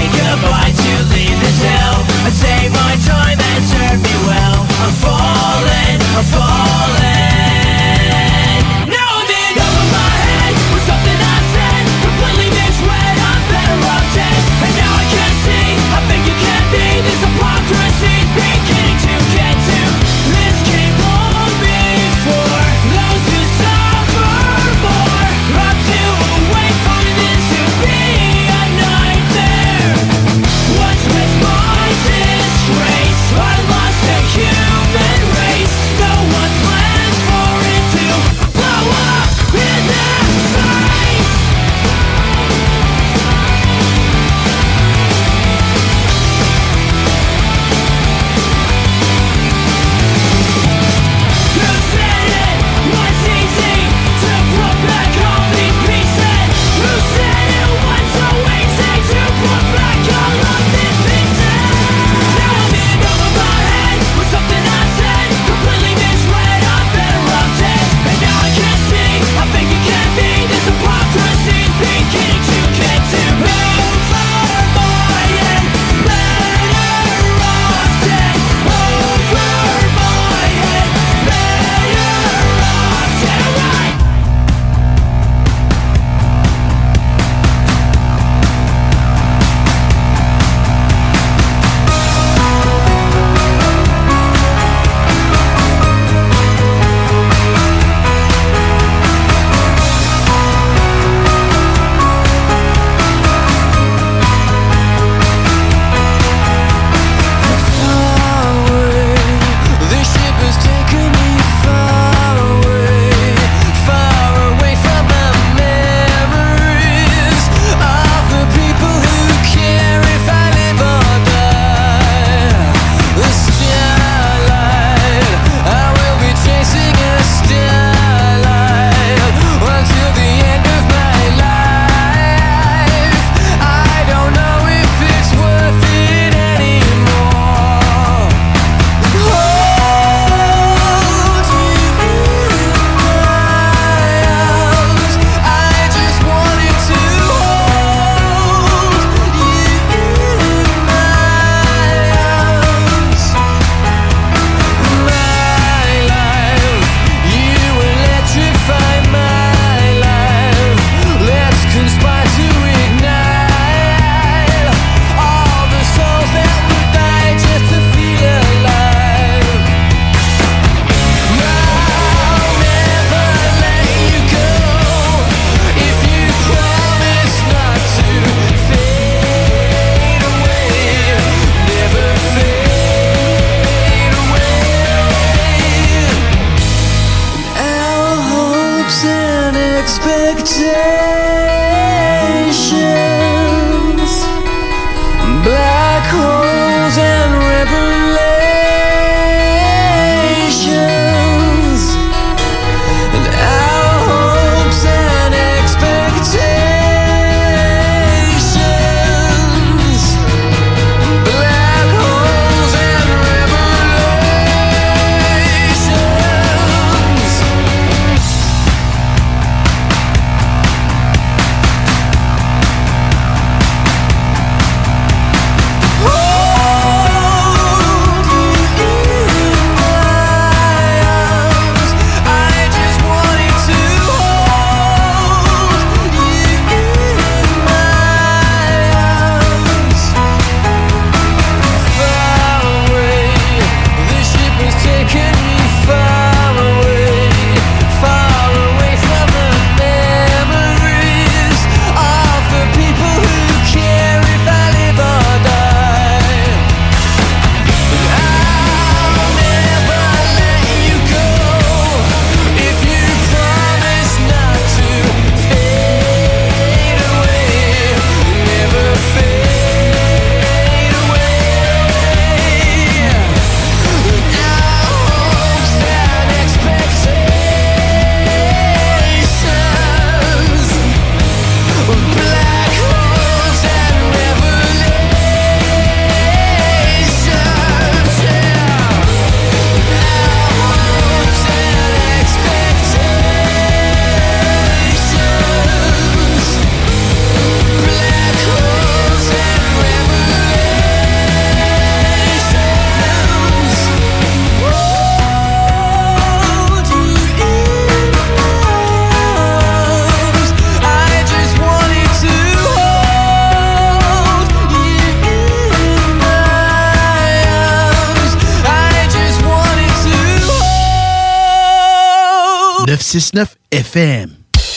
96.9 FM.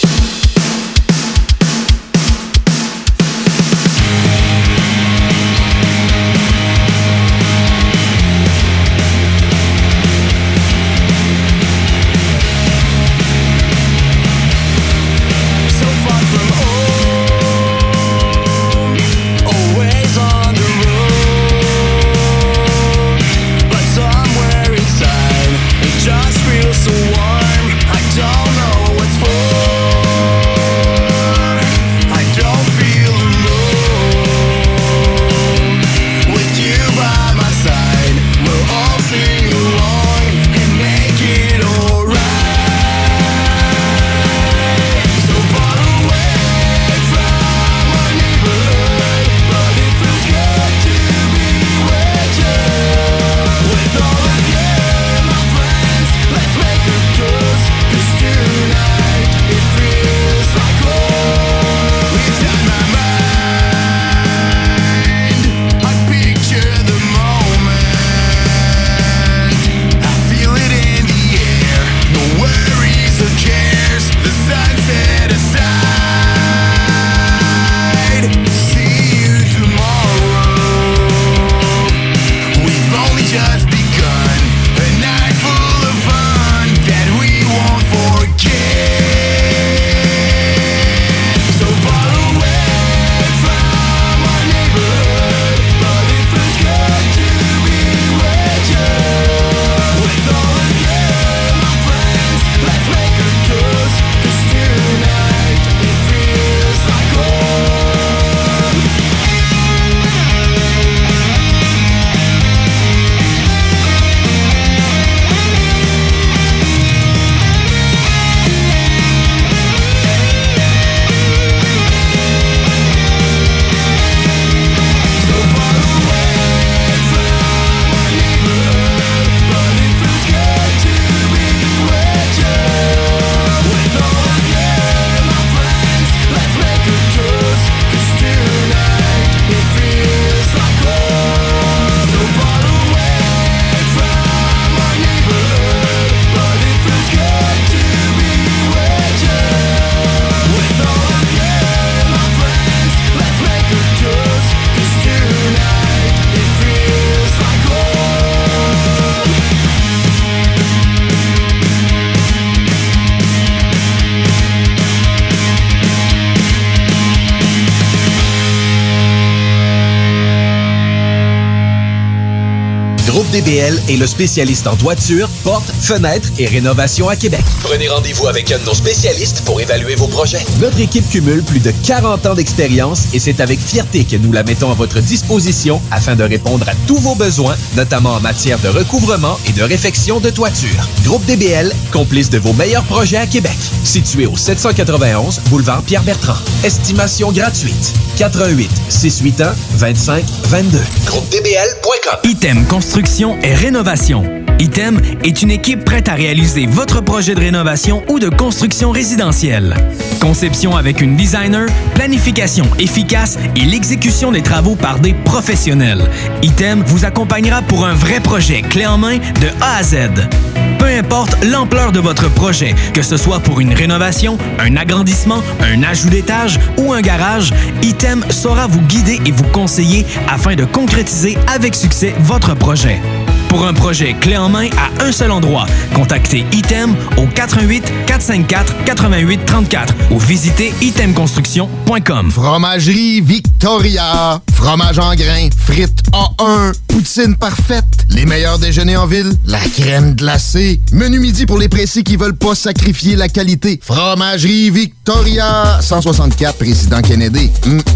Groupe DBL est le spécialiste en toiture, portes, fenêtres et rénovation à Québec. Prenez rendez-vous avec un de nos spécialistes pour évaluer vos projets. Notre équipe cumule plus de 40 ans d'expérience et c'est avec fierté que nous la mettons à votre disposition afin de répondre à tous vos besoins, notamment en matière de recouvrement et de réfection de toiture. Groupe DBL, complice de vos meilleurs projets à Québec. Situé au 791 boulevard Pierre-Bertrand. Estimation gratuite. 88 681 25 22. GroupeDBL.com. Item Construction et Rénovation. Item est une équipe prête à réaliser votre projet de rénovation ou de construction résidentielle. Conception avec une designer, planification efficace et l'exécution des travaux par des professionnels. Item vous accompagnera pour un vrai projet clé en main de A à Z. Peu importe l'ampleur de votre projet, que ce soit pour une rénovation, un agrandissement, un ajout d'étage ou un garage, Item saura vous guider et vous conseiller afin de concrétiser avec succès votre projet. Pour un projet clé en main à un seul endroit, contactez Item au 88 454 88 34 ou visitez itemconstruction.com. Fromagerie Victoria. Fromage en grains, frites A1, poutine parfaite, les meilleurs déjeuners en ville, la crème glacée, menu midi pour les pressés qui veulent pas sacrifier la qualité. Fromagerie Victoria. 164 Président Kennedy.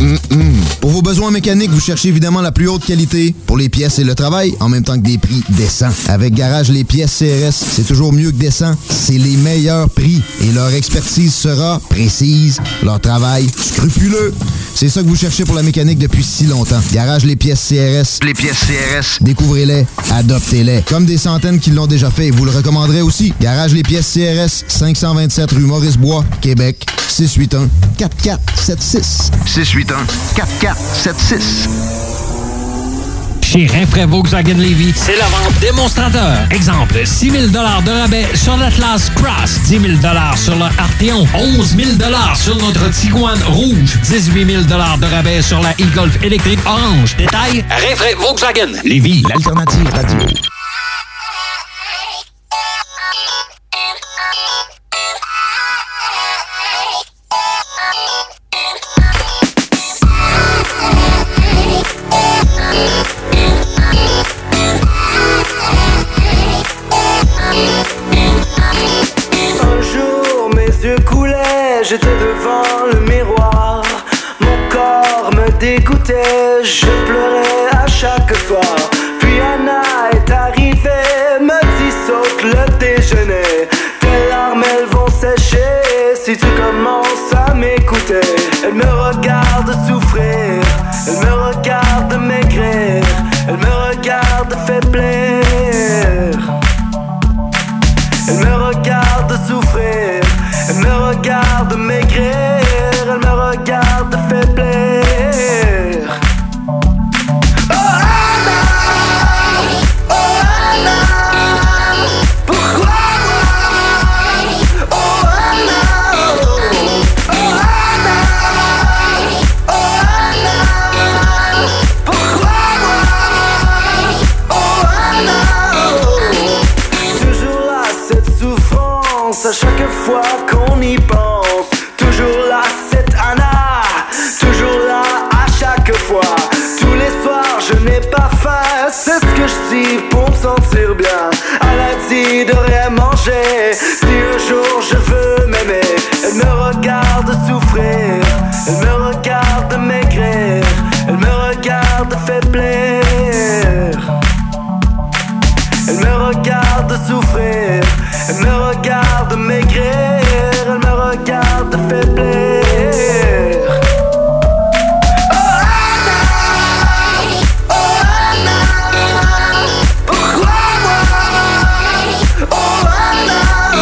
Pour vos besoins mécaniques, vous cherchez évidemment la plus haute qualité pour les pièces et le travail, en même temps que des prix décents. Avec Garage Les Pièces CRS, c'est toujours mieux que décent. C'est les meilleurs prix et leur expertise sera précise, leur travail scrupuleux. C'est ça que vous cherchez pour la mécanique depuis si longtemps. Garage Les Pièces CRS. Les pièces CRS. Découvrez-les, adoptez-les. Comme des centaines qui l'ont déjà fait et vous le recommanderez aussi. Garage Les Pièces CRS, 527 rue Maurice-Bois, Québec, 681-4476. 681-4476. Chez Rinfraie Volkswagen Lévy, c'est la vente démonstrateur. Exemple, 6 000 de rabais sur l'Atlas Cross, 10 000 sur le Arteon, 11 000 sur notre Tiguan Rouge, 18 000 de rabais sur la e-Golf électrique orange. Détail, Rinfraie Volkswagen Lévy, l'alternative radio. J'étais devant le miroir, mon corps me dégoûtait, je pleurais à chaque soir. Puis Anna est arrivée, me dit saute le déjeuner. Tes larmes elles vont sécher si tu commences à m'écouter. Elle me regarde souffrir, elle me regarde maigrir, elle me regarde faiblir. Elle me regarde souffrir, elle me regarde maigrir, elle me regarde faiblir. Oh Anna, pourquoi moi? Oh Anna, pourquoi moi? Oh Anna, toujours là cette souffrance à chaque fois qu'on y pense. Toujours là cette Anna, toujours là à chaque fois. Tous les soirs je n'ai pas faim, c'est ce que je dis pour me sentir bien. Elle a dit de rien manger, si un jour je veux m'aimer. Elle me regarde souffrir, elle me regarde maigrir, elle me regarde faiblir. Elle me regarde souffrir, elle me regarde maigrir, elle me regarde faiblir. Oh Anna, pourquoi moi? Oh Anna,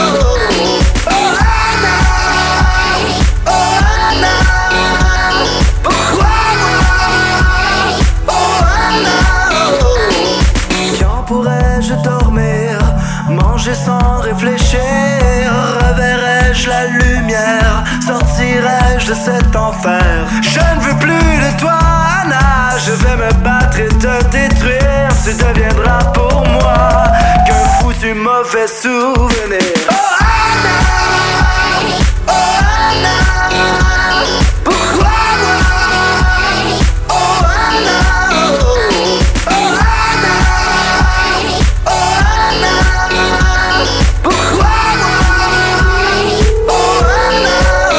pourquoi moi? Oh Anna, quand pourrais-je dormir, manger sans réfléchir? Reverrai-je la lumière? Sortirai-je de cet enfer? Je ne veux plus de toi, Anna. Je vais me battre et te détruire. Tu deviendras pour moi qu'un foutu mauvais souvenir. Oh Anna, pourquoi moi? Oh Anna, pourquoi moi? Oh Anna.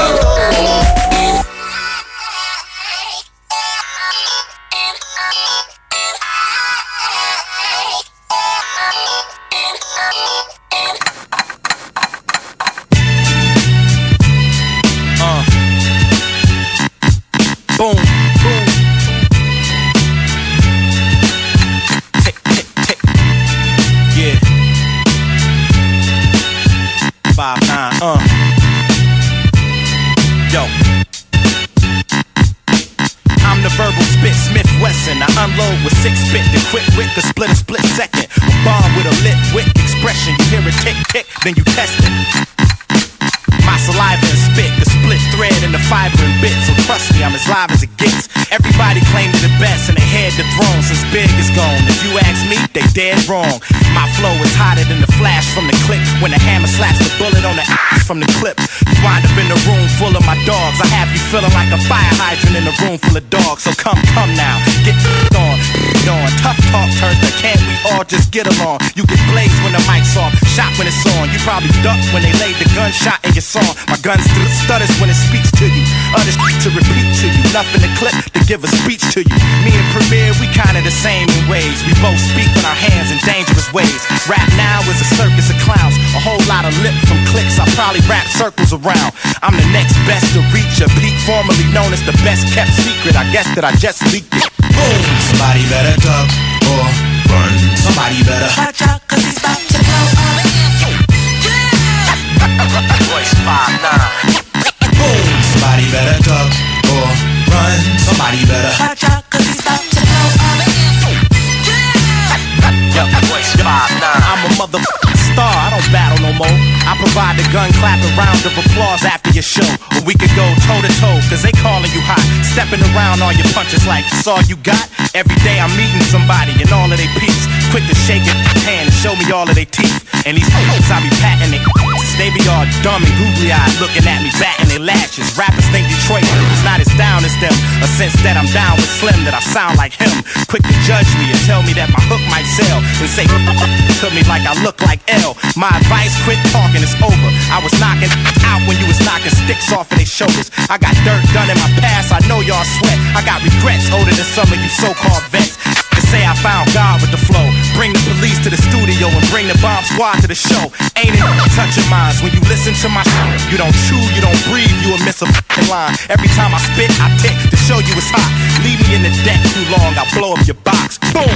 Boom, boom. Tick, tick, tick. Yeah. 5-9, Yo. I'm the verbal spit, Smith Wesson. I unload with 6-bit, the quick wit, the split a split second. A bomb with a lit wick expression. You hear it tick, tick, then you test it. My saliva and spit, the split thread and the fiber and bit. So trust me, I'm as live as it gets. Everybody claims the best and they head the throne since Big is gone. If you ask me, they dead wrong. My flow is hotter than the flash from the click when the hammer slaps the bullet on the ass from the clip. You wind up in a room full of my dogs. I have you feeling like a fire hydrant in a room full of dogs. So come now, get on. Tough talk turns to can't we all just get along? You get blazed when the mic's off, shot when it's on. You probably duck when they laid the gunshot in your song. My gun stutters when it speaks to you. Others to repeat to you. Nothing to clip to give a speech to you. Me and Premier, we kinda the same in ways. We both speak with our hands in dangerous ways. Rap now is a circus of clowns. A whole lot of lip from clicks. I probably wrap circles around. I'm the next best to reach a peak, formerly known as the best kept secret. I guess that I just leaked it. Boom! Somebody better duck or run. Somebody better watch out, cause he's about to blow up. Voice 5-9. Boom! Somebody better duck or run. Somebody better watch out, cause he's about to blow up. a gun clapping round of applause after your show. Or we could go toe to toe, cause they calling you hot. Stepping around on your punches like that's all you got. Every day I'm meeting somebody and all of they peeps. Quick to shake it hand and show me all of their teeth. And these hoes I be patting it. They be all dumb and googly eyed looking at me, batting their lashes. Rappers think Detroit is not as down as them. A sense that I'm down with Slim, that I sound like him. Quick to judge me and tell me that my hook might sell. And say to me like I look like L. My advice, quit talking, it's over. I was knocking out when you was knocking sticks off of their shoulders. I got dirt done in my past, I know y'all sweat. I got regrets older than some of you so-called vets. To say I found God with the flow. Bring the police to the studio and bring the bomb squad to the show. Ain't it touching minds when you listen to my shit? You don't chew, you don't breathe, you will miss a f***ing line. Every time I spit, I tick to show you it's hot. Leave me in the deck too long, I'll blow up your box. Boom!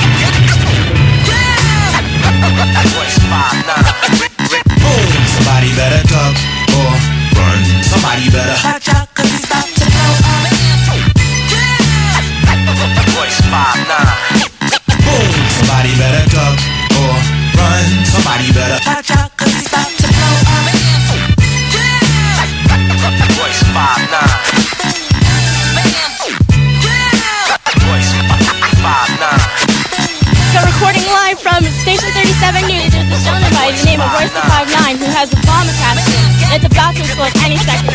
Boom! Somebody better duck or run. Somebody better watch out, cause he's about to blow up. Voice 5'9". Boom! Somebody better duck or run. Somebody better watch out, cause he's about to blow up. Voice 5'9". Voice 5'9". So recording live from Station 37 News, there's a gentleman by the name of Royce the 5'9" who has a bomb attached to him. It's about to explode any second.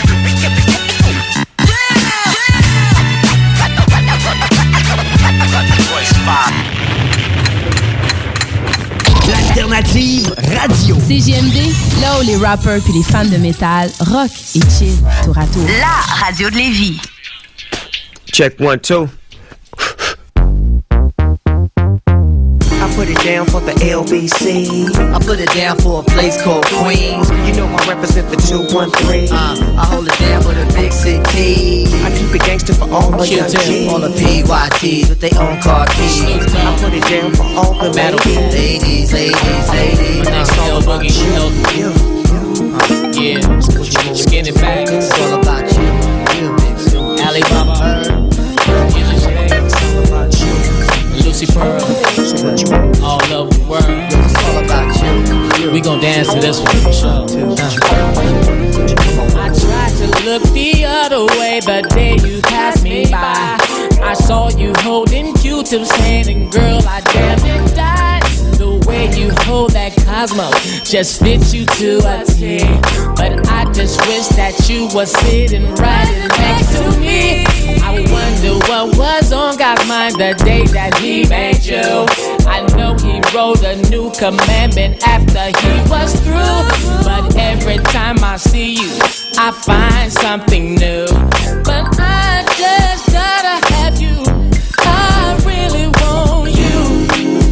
L'alternative radio. CJMD, là où les rappers puis les fans de métal rock et chill tour à tour. La radio de Lévis. Check 1, 2. I put it down for the LBC. I put it down for a place called Queens. You know I represent the 213. I hold it down for the big city. I keep it gangster for all the young kids. All the PYTs with their own car keys. I put it down for all the ladies. My next L Boogie, you know you. Yeah, skin it back. It's all about you. Alibaba. Lucy Pearl, all over the world. It's all about you. We gon' dance to this one for sure. I tried to look the other way the day you passed me by. I saw you holding Q-Tip's hand and girl, I damn it died. The way you hold that Cosmo just fits you to a T. But I just wish that you were sitting right next to me. I wonder what was on God's mind the day that he made you. I know he wrote a new commandment after he was through. But every time I see you, I find something new. But I just gotta have you. I really want you.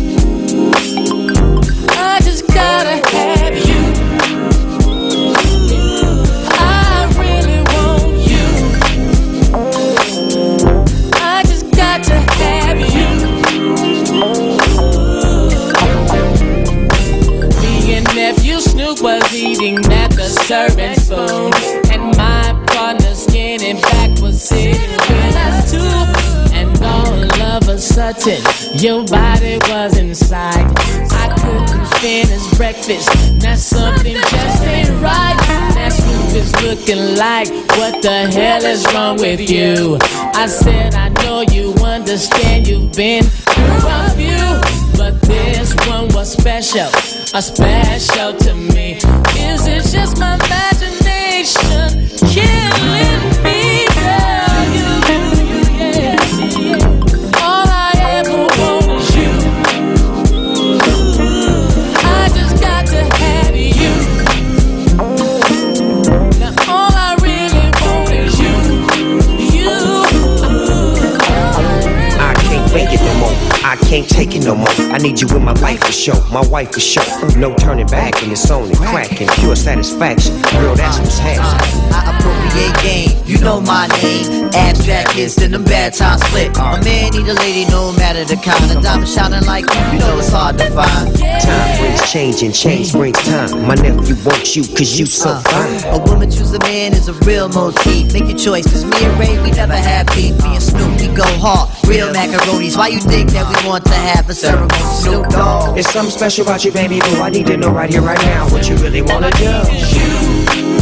I just gotta have you. I really want you. I just got to have you. Me and nephew Snoop was eating at the serving spoon, and my partner Skinny Back was sitting with us too. And all of a sudden, your body was inside. I couldn't finish breakfast. Now something just ain't right. That Snoop is looking like, what the hell is wrong with you? I said, I know you understand you've been through a few, but this one was special, special to me. Is it just my imagination killing me, girl? Yeah. All I ever want is you. I just got to have you. Now all I really want is you. I can't fake it no more. I can't take it no more. I need you in my life for sure. My wife for sure. No turning back, and it's only cracking. Pure satisfaction. Girl, that's what's happening. I appropriate game. You know my name. Abstract kids, then them bad times split. A man need a lady, no matter the kind. A diamond shining like you know it's hard to find. Time brings change, and change brings time. My nephew wants you, cause you so fine. A woman choose a man is a real motif. Make your choice, cause me and Ray, we never have beef. Me and Snoop, we go hard. Real macaronis. Why you think that we want to have a ceremony, Snoop Dogg. It's something special about you, baby boo. I need to know right here, right now, what you really wanna do.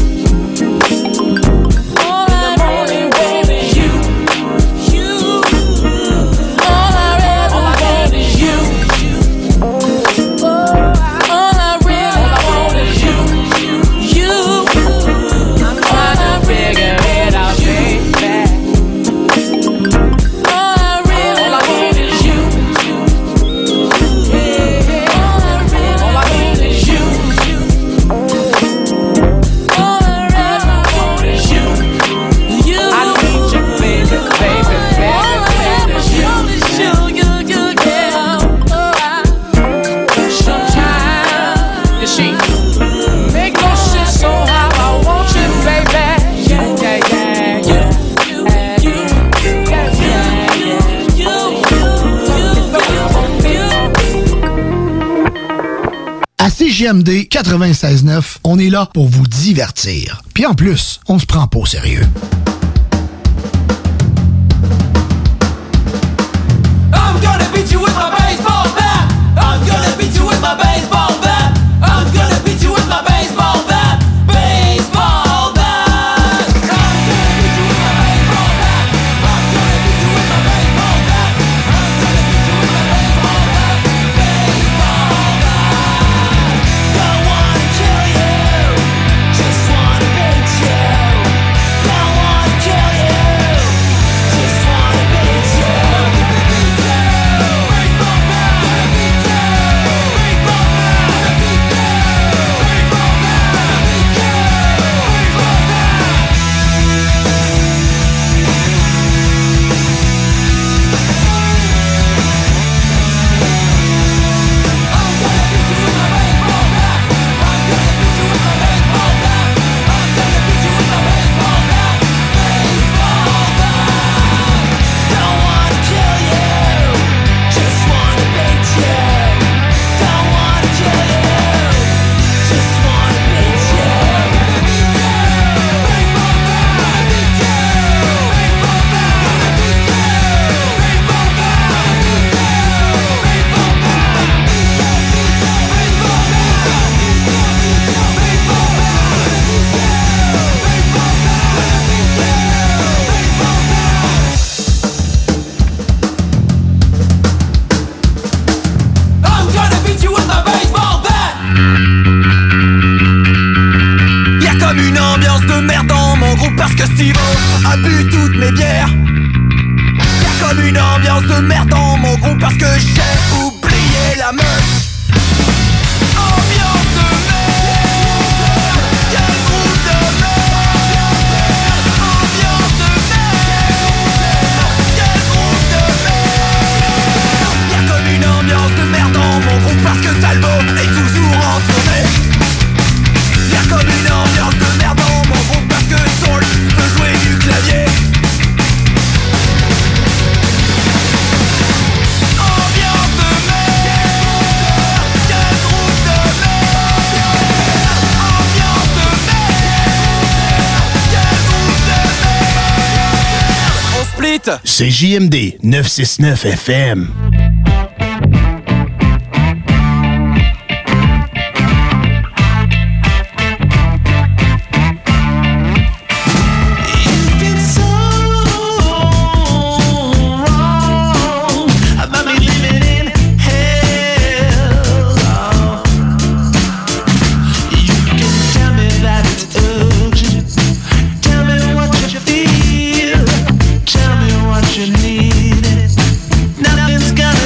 CJMD 96.9, on est là pour vous divertir. Puis en plus, on se prend pas au sérieux. I'm gonna beat you with my baseball bat. I'm gonna beat you with my baseball bat. I'm gonna beat you with my baseball bat. Baseball bat. I'm gonna beat you with my baseball bat. I'm gonna beat you with my baseball bat. I'm gonna beat you with my baseball bat. Baseball bat. Don't wanna kill you, just wanna beat you. Don't wanna kill you, just wanna beat you. A bu toutes mes bières. Y'a comme une ambiance de merde dans mon groupe parce que j'ai oublié la meuf. Ambiance de merde. Quel groupe de merde. Ambiance de merde. Quel groupe de merde. Y'a comme une ambiance de merde dans mon groupe parce que Talbot est toujours en tournée. Y'a comme une ambiance de merde dans mon groupe parce que Soul peut jouer du clavier. Ambiance de merde. Quel groupe de merde. Ambiance de merde. Quel groupe de merde. On split. C'est JMD 969 FM. Tell me what you need. Nothing's gonna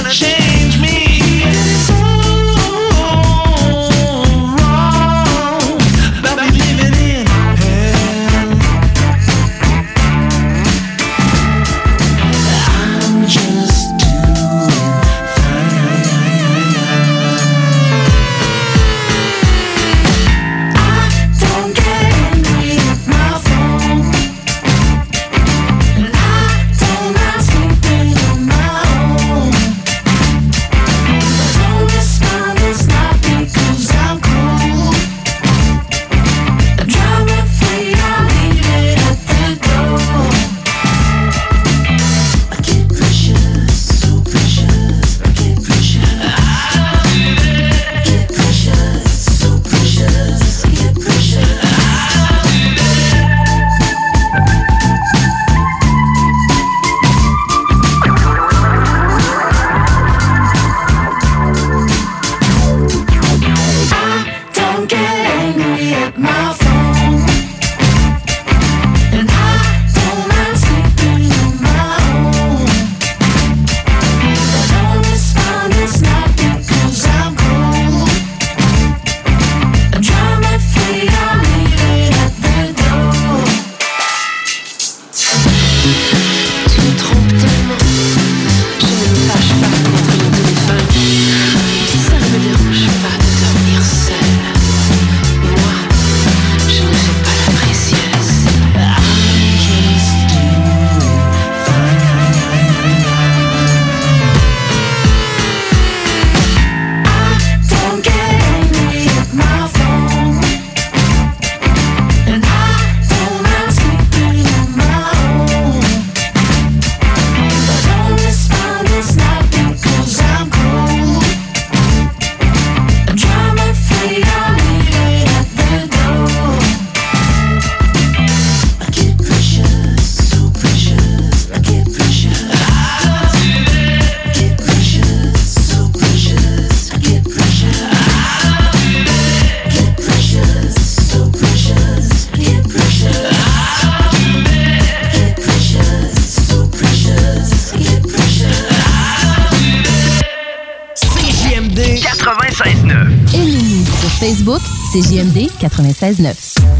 Aimez-nous sur Facebook, CJMD 96.9.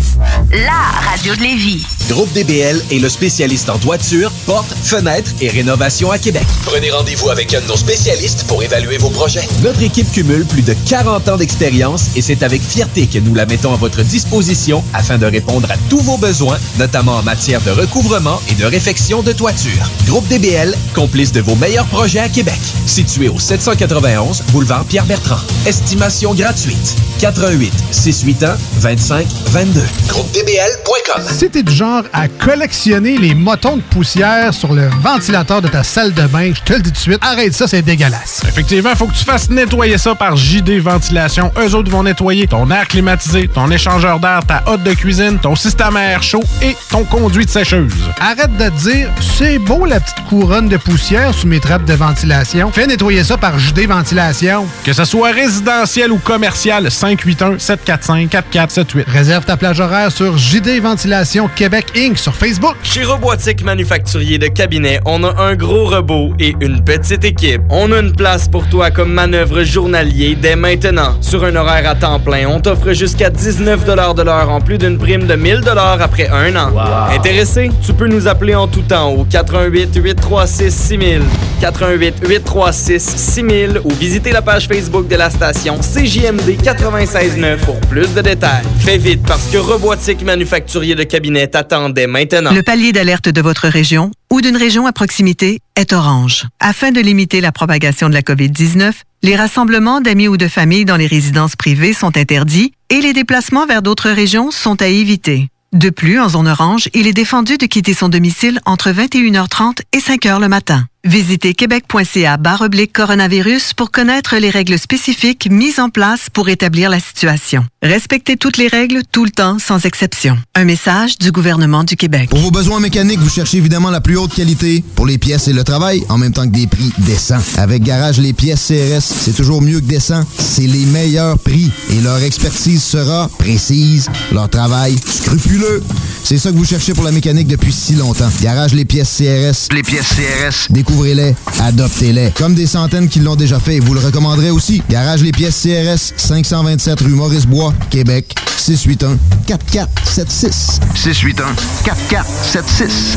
La radio de Lévis. Groupe DBL est le spécialiste en toiture, portes, fenêtres et rénovation à Québec. Prenez rendez-vous avec un de nos spécialistes pour évaluer vos projets. Notre équipe cumule plus de 40 ans d'expérience et c'est avec fierté que nous la mettons à votre disposition afin de répondre à tous vos besoins, notamment en matière de recouvrement et de réfection de toiture. Groupe DBL, complice de vos meilleurs projets à Québec. Situé au 791 boulevard Pierre-Bertrand. Estimation gratuite. 88 681 25 22. GroupeDBL.com. Si t'es du genre à collectionner les motons de poussière sur le ventilateur de ta salle de bain, je te le dis tout de suite, arrête ça, c'est dégueulasse. Effectivement, il faut que tu fasses nettoyer ça par JD Ventilation. Eux autres vont nettoyer ton air climatisé, ton échangeur d'air, ta hotte de cuisine, ton système à air chaud et ton conduit de sécheuse. Arrête de te dire, c'est beau la petite couronne de poussière sous mes trappes de ventilation. Fais nettoyer ça par JD Ventilation. Que ce soit résidentiel ou commercial, 581-745-4478. Réserve ta plage horaire sur JD Ventilation Québec Inc. sur Facebook. Chez Robotique Manufacturier de Cabinet, on a un gros robot et une petite équipe. On a une place pour toi comme manœuvre journalier dès maintenant. Sur un horaire à temps plein, on t'offre jusqu'à 19 de l'heure en plus d'une prime de 1000 après un an. Wow. Intéressé? Tu peux nous appeler en tout temps au 88 836 6000, 88 836 6000 ou visiter la page Facebook de la station CJMD 96.9 pour plus de détails. Fais vite parce que Robotique Manufacturier de Cabinet t'attendait maintenant. Le palier d'alerte de votre région ou d'une région à proximité est orange. Afin de limiter la propagation de la COVID-19, les rassemblements d'amis ou de familles dans les résidences privées sont interdits et les déplacements vers d'autres régions sont à éviter. De plus, en zone orange, il est défendu de quitter son domicile entre 21h30 et 5h le matin. Visitez québec.ca/coronavirus pour connaître les règles spécifiques mises en place pour établir la situation. Respectez toutes les règles tout le temps, sans exception. Un message du gouvernement du Québec. Pour vos besoins mécaniques, vous cherchez évidemment la plus haute qualité pour les pièces et le travail, en même temps que des prix décents. Avec Garage Les Pièces CRS, c'est toujours mieux que décent. C'est les meilleurs prix et leur expertise sera précise, leur travail scrupuleux. C'est ça que vous cherchez pour la mécanique depuis si longtemps. Garage Les Pièces CRS. Les pièces CRS. Découvrez-les, adoptez-les. Comme des centaines qui l'ont déjà fait, vous le recommanderez aussi. Garage Les Pièces CRS, 527 rue Maurice-Bois, Québec, 681-4476. 681-4476.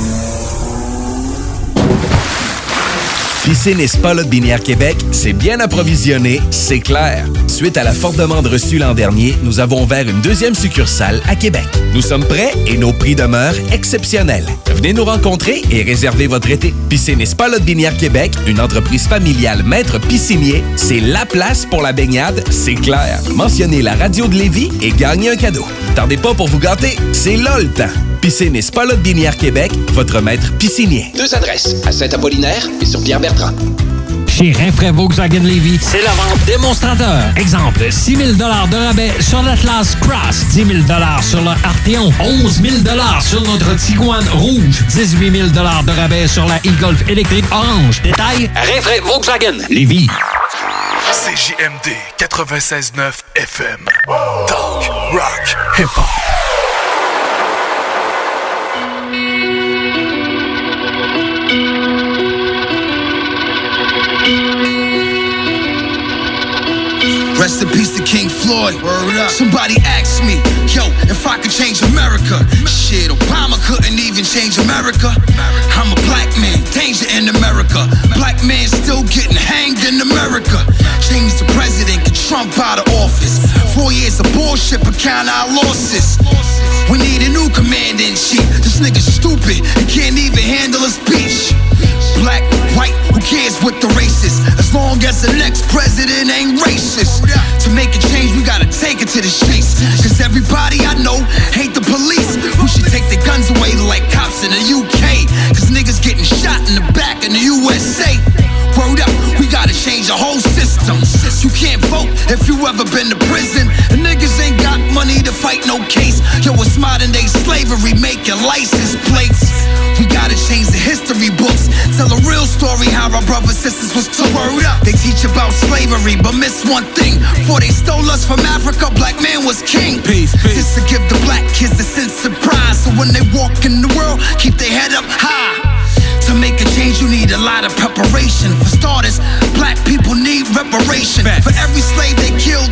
Piscine et Spa Lotbinière Québec, c'est bien approvisionné, c'est clair. Suite à la forte demande reçue l'an dernier, nous avons ouvert une deuxième succursale à Québec. Nous sommes prêts et nos prix demeurent exceptionnels. Venez nous rencontrer et réserver votre été. Piscine et Spa Lotbinière Québec, une entreprise familiale maître piscinier, c'est la place pour la baignade, c'est clair. Mentionnez la radio de Lévis et gagnez un cadeau. Tardez pas pour vous gâter, c'est là le temps. Piscine et Spa Lotbinière Québec, votre maître piscinier. 2 adresses, à Saint-Apollinaire et sur Pierre-Bertrand. Chez Rinfraie Volkswagen Lévis, c'est la vente démonstrateur. Exemple, 6 000 de rabais sur l'Atlas Cross, 10 000 sur le Arteon, 11 000 sur notre Tiguan Rouge, 18 000 de rabais sur la e-Golf électrique orange. Détail, Rinfraie Volkswagen Lévis. CJMD 96.9 FM. Talk, rock, hip-hop. Rest in peace to King Floyd. Somebody asked me, yo, if I could change America. Shit, Obama couldn't even change America. I'm a black man, danger in America. Black man still getting hanged in America. Change the president, get Trump out of office. 4 years of bullshit, but count our losses. We need a new commander-in-chief. This nigga's stupid, he can't even handle a speech. Black, white, who cares what the race is? As long as the next president ain't racist. To make a change, we gotta take it to the streets. Cause everybody I know hate the police. We should take their guns away like cops in the UK. Cause niggas getting shot in the back in the USA. Word up, we gotta change the whole system. You can't vote if you ever been to prison. And niggas ain't got money to fight no case. Yo, it's modern day slavery making license plates. We gotta change the history books. Tell a real story how our brothers sisters was took. Word up, they teach about slavery but miss one thing. Before they stole us from Africa, black man was king. Peace, peace. Just to give the black kids a sense of pride. So when they walk in the world, keep their head up high. To make a change, you need a lot of preparation. For starters, black people need reparation. For every slave they kill,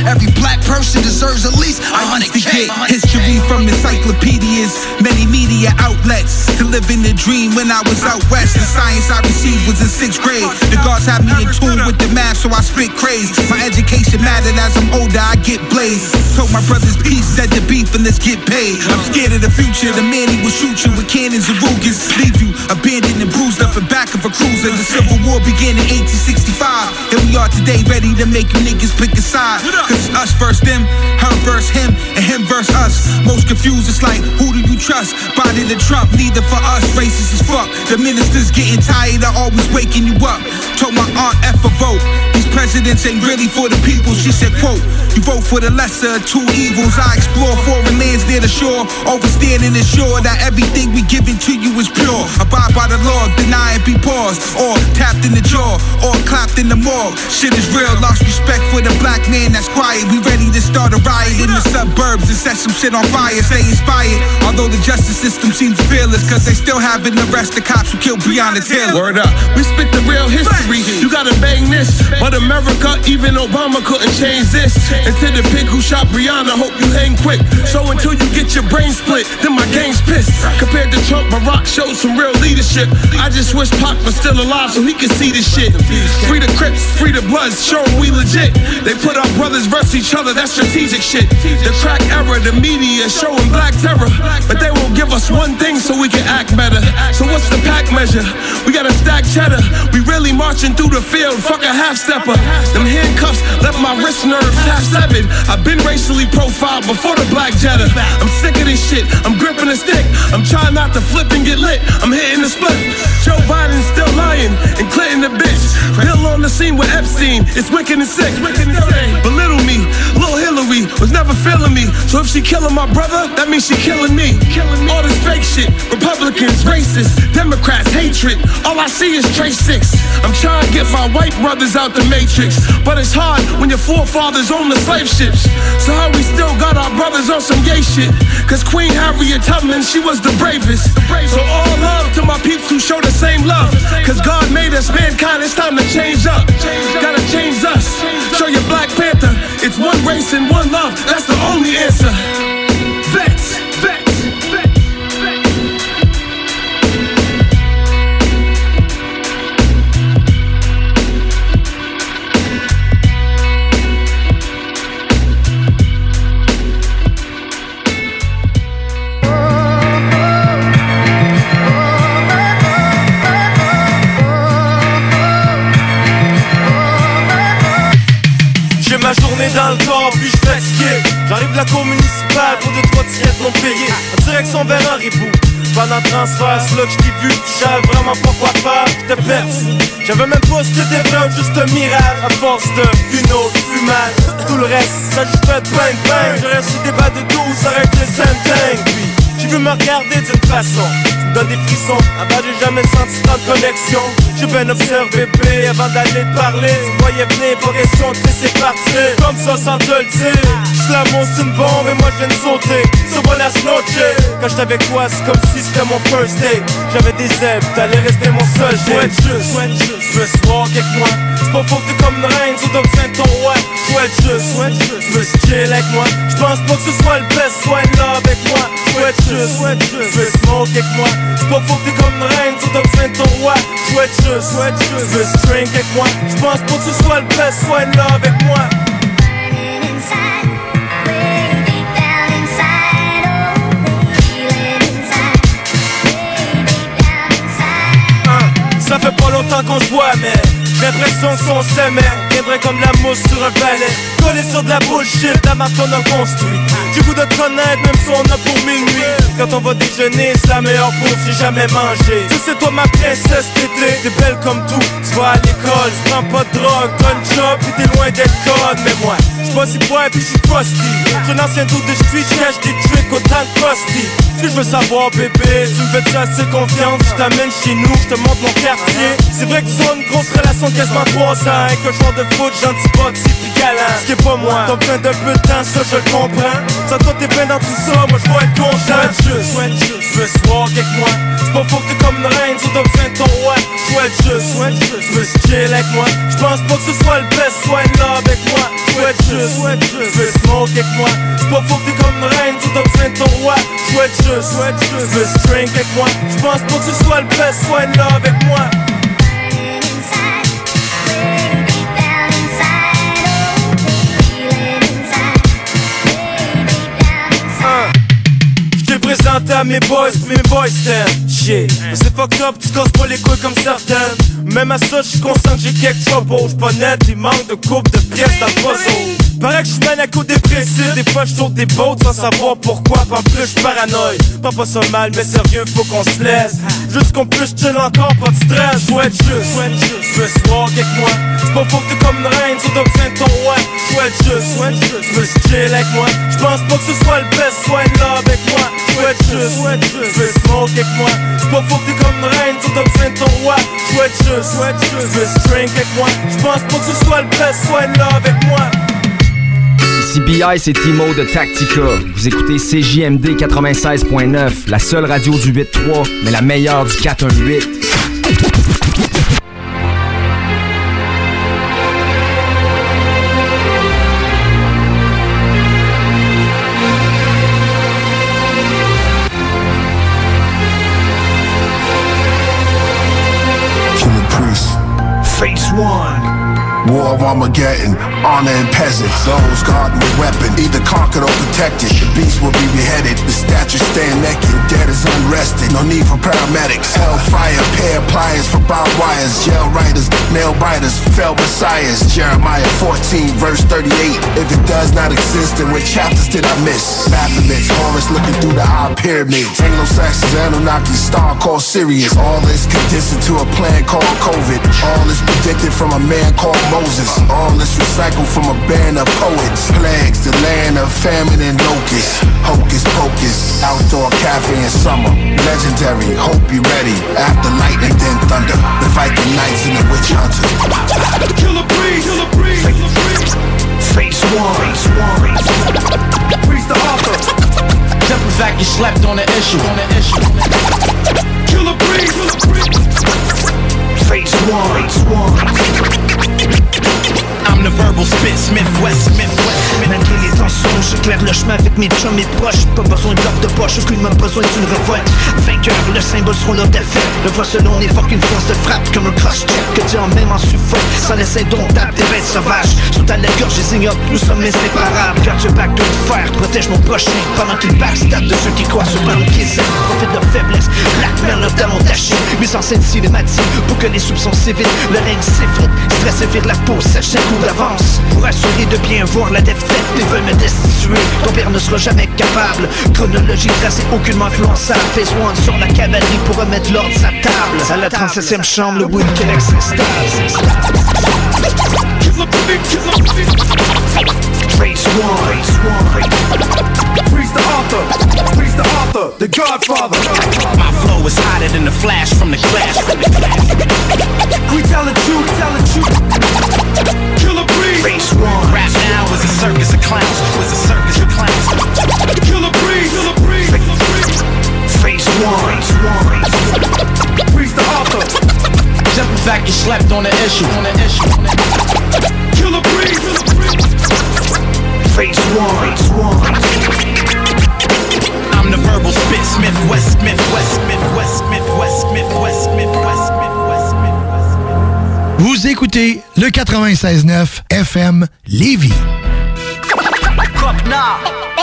Every black person deserves at least 100K. History from encyclopedias, many media outlets. To live in the dream when I was out west. The science I received was in 6th grade. The gods had me in tune with the math, so I spit craze. My education mattered as I'm older, I get blazed. Told my brothers peace, said the beef and let's get paid. I'm scared of the future, the man he will shoot you with cannons and Rugers. Leave you abandoned and bruised up in back of a cruiser. The Civil War began in 1865. Here we are today, ready to make you niggas pick a side. Cause it's us versus them, her versus him, and him versus us. Most confused, it's like, who do you trust? Biden or Trump, neither for us, racist as fuck. The ministers getting tired of always waking you up. Told my aunt F a vote. These presidents ain't really for the people. She said, quote, you vote for the lesser of two evils. I explore foreign lands near the shore, overstand and ensure that everything we giving to you is pure. Abide by the law, deny and be paused, or tapped in the jaw, or clapped in the morgue. Shit is real, lost respect for the black man that's quiet. We ready to start a riot in the suburbs and set some shit on fire. Stay inspired, although the justice system seems fearless, cause they still haven't arrested the cops who killed Breonna Taylor. Word up, we spit the real history. You gotta bang this, but America, even Obama couldn't change this. And to the pig who shot Breonna, hope you hang quick. So until you get your brain split, then my gang's pissed. Compared to Trump, Barack showed some real leadership. I just wish Pac was still alive so he could see this shit. Free the Crips, free the Bloods, show them we legit. They put our brothers versus each other, that's strategic shit. The crack era, the media showing black terror, but they won't give us one thing so we can act better. So what's the pack measure? We gotta stack cheddar. We really marching through the field, fuck a half-stepper. Them handcuffs left my wrist nerves half-severed. I've been racially profiled before the black Jetta. I'm sick of this shit, I'm gripping a stick. I'm trying not to flip and get lit, I'm hitting the split. Joe Biden's still lying and Clinton the bitch. Bill on the scene with Epstein, it's wicked and sick. Belittle me, Lil Hillary was never feeling me. So if she killing my brother, that means she killing me. All this fake shit, Republicans, racists, Democrats, hatred. All I see is Trace 6. I'm trying to get my white brothers out the matrix, but it's hard when your forefathers own the slave ships. So how we still got our brothers on some gay shit? Cause Queen Harriet Tubman, she was the bravest. So all love to my peeps who show the same love. Cause God made us mankind, it's time to change up. Gotta change us. Show your Black Panther, it's one race and one love, that's the only answer. Vets, vets. Ma journée dans le corps, puis je fatigué. J'arrive de la cour municipale pour 2-3 tirettes non payées. En direction vers un ribou. Pendant le transfert, c'est là que je t'ai vu, tu savais vraiment pas quoi faire, puis t'es perdu. J'avais même pas si t'étais vrai, juste un mirage. À force de une autre fumade. Tout le reste, ça juste fait bang bang. J'aurais su des bas de 12, ça aurait été Saint-Dingue. Puis j'ai vu me regarder d'une façon qui me donne des frissons. Avant j'ai jamais senti tant de connexion. J'ai bien observé bébé avant d'aller te parler. Tu me voyais venir, pas question de laisser partir. Comme ça sans te le dire. Juste l'amour c'est une bombe et moi je viens de sauter. So buenas noches. Quand j'étais avec toi c'est comme si c'était mon first date. J'avais des ailes, t'allais rester mon seul. Souhaite juste, tu veux se walk avec moi. C'est pas faux que t'es comme une reine, so donc viens ton roi. Souhaite juste, tu veux se chill avec moi. J'pense pas que ce soit le best, sois in love avec moi. Souhaite juste, tu veux smoke avec moi. C'est pas faux que t'es comme une reine, so donc viens ton roi. Souhaite juste, tu veux se drink avec moi. J'pense pas que ce soit le best, sois in love avec moi. Ça fait pas longtemps qu'on se voit mais j'ai l'impression qu'on s'aimait. Viendrait comme la mousse sur un balai. Collé sur de la bullshit, la marque qu'on a construit. J'ai goût de te connaître même si on a pour minuit. Quand on va déjeuner, c'est la meilleure bouffe que j'ai jamais mangé. Tu sais toi ma princesse tété, t'es belle comme tout. Tu vas à l'école, tu prends pas de drogue, t'as une job pis t'es loin d'être conne. Mais moi, j'suis pas si bois pis j'suis crusty. J'suis un ancien doute de street, j'cache des tricks autant de crusty. Ce que je veux savoir bébé, tu me fais-tu assez confiance? J't'amène chez nous, j'te montre mon quartier. C'est vrai que tu as une grosse relation sont quasiment 3 ans. Et que joueur de foot, gentil boxe et puis galant. Ce qui est pas moi, t'as besoin d'un peu de temps, ça je le comprends. Ça toi t'es bien dans tout ça, moi je vais être content. Souhaite juste, tu veux se walk avec moi. C'est pas faux que t'es comme une reine, so t'as besoin de ton roi. Souhaite juste, tu veux se chill avec moi. J'pense pas que ce soit le best, sois in love avec moi. Souhaite juste, tu veux smoke avec moi. C'est pas faux que t'es comme une reine, so t'as besoin de ton roi. Souhaite juste, tu veux se drink avec moi. J'pense pas que ce soit le best, sois in love avec moi. Présenté à mes boys t'aiment. Shit, mais c'est fucked up, tu casses pas les couilles comme certaines. Même à ça, j'suis conscient que j'ai quelques troubles. J'suis pas net, il manque de coupe de pièces dans le puzzle. Paraît que j'suis maniaco-dépressif, des fois j'saute des boats sans savoir pourquoi. Pis en plus j'suis paranoïe, pas ça mal, mais sérieux, faut qu'on se laisse. Juste qu'on puisse chill encore, pas de stress. Souhaite juste, tu veux se walk avec moi. C'est pas faux que t'es comme une reine, so t'as besoin de ton roi. Souhaite juste, tu veux se chill avec moi. J'pense pas que ce soit le best, sois in love avec moi. Souhaite juste, tu veux smoke avec moi. C'est pas faux que t'es comme une reine, so t'as besoin de ton roi. Souhaite juste, tu veux se drink avec moi. J'pense pas que ce soit le best, sois in love avec moi. Ici BI, c'est Timo de Tactica. Vous écoutez CJMD 96.9, la seule radio du 8-3, mais la meilleure du 4-1-8. Phase 1. War of Armageddon, honor and peasants. Those guarding the weapon, either conquered or protected. The beast will be beheaded, the statues stand naked. Dead is unrested, no need for paramedics. Hellfire, pair pliers for barbed wires. Jail writers, nail biters, fell messiahs. Jeremiah 14, verse 38. If it does not exist, then what chapters did I miss? Baphomets, Horus looking through the eye pyramids. Anglo-Saxons, Anunnaki, star called Sirius. All this condensed into a plan called COVID. All this predicted from a man called Moses. All this recycled from a band of poets. Plagues, the land of famine and locusts. Hocus pocus, outdoor cafe in summer. Legendary, hope you ready. After lightning, then thunder. The Viking knights and the witch hunters. Killer breeze, killer breeze, killer breeze. Phase 1. Breeze the author. Simple fact, you slept on the issue. Killer breeze, killer breeze. Phase 1. I'm the verbal spit, Smith West. Malgré les tensions, j'éclaire le chemin avec mes chums et proches. Pas besoin de bloc de poche, aucunement besoin d'une révolte. Vainqueur, le symbole seront leur défaite. Le voix selon n'est fucking force de frappe comme un cross-check. Que Dieu en même en suffoque, sans laisser indomptable des bêtes sauvages. Sont à la gorge des ignobles, nous sommes inséparables. Garde your back de fer, protège mon prochain. Pendant qu'il backstab de ceux qui croient sur le qu'ils aiment. Profite de leur faiblesse, blackmail leur talon taché. Mise en scène cinématique, pour que les soupçons s'évitent. Le règne s'effrite, stress et vire la peau, sèche 5 coups d'avance. Pour assurer de bien voir la défaite, ils veulent me destituer. Ton père ne sera jamais capable. Chronologie tracée, aucunement influençable. Phase 1 sur la cavalerie pour remettre l'ordre sa table. À la 37e chambre, le Wilkenex s'installe. Phase 1. Breeze the author, the Godfather. My flow is hotter than the flash from the clash. We tell the truth, Killer breeze. Phase 1. Rap now is a circus of clowns. Killer breeze, Phase 1. Breeze the author. Simple fact, you slept on the issue. Killer breeze. Phase 1. I'm the verbal spit, Smith West. Vous écoutez le 96.9 FM Lévis. Copna,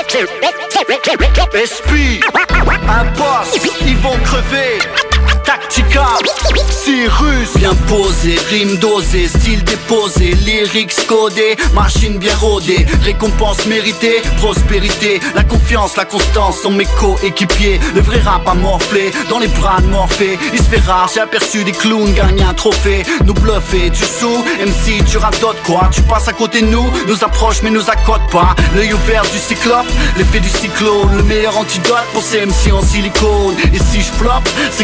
SP, Impost, ils vont crever. Tactica, Cyrus, bien posé, rime dosée, style déposé, lyrics codés, machine bien rodée, récompense méritée, prospérité, la confiance, la constance sont mes coéquipiers. Le vrai rap a morflé, dans les bras de Morphée. Il se fait rare, j'ai aperçu des clowns gagner un trophée. Nous bluffer, tu sous, MC, tu radotes quoi. Tu passes à côté de nous, nous approche mais nous accote pas. L'œil ouvert du cyclope, l'effet du cyclone, le meilleur antidote pour ces MC en silicone. Et si je floppe, c'est que ça arrive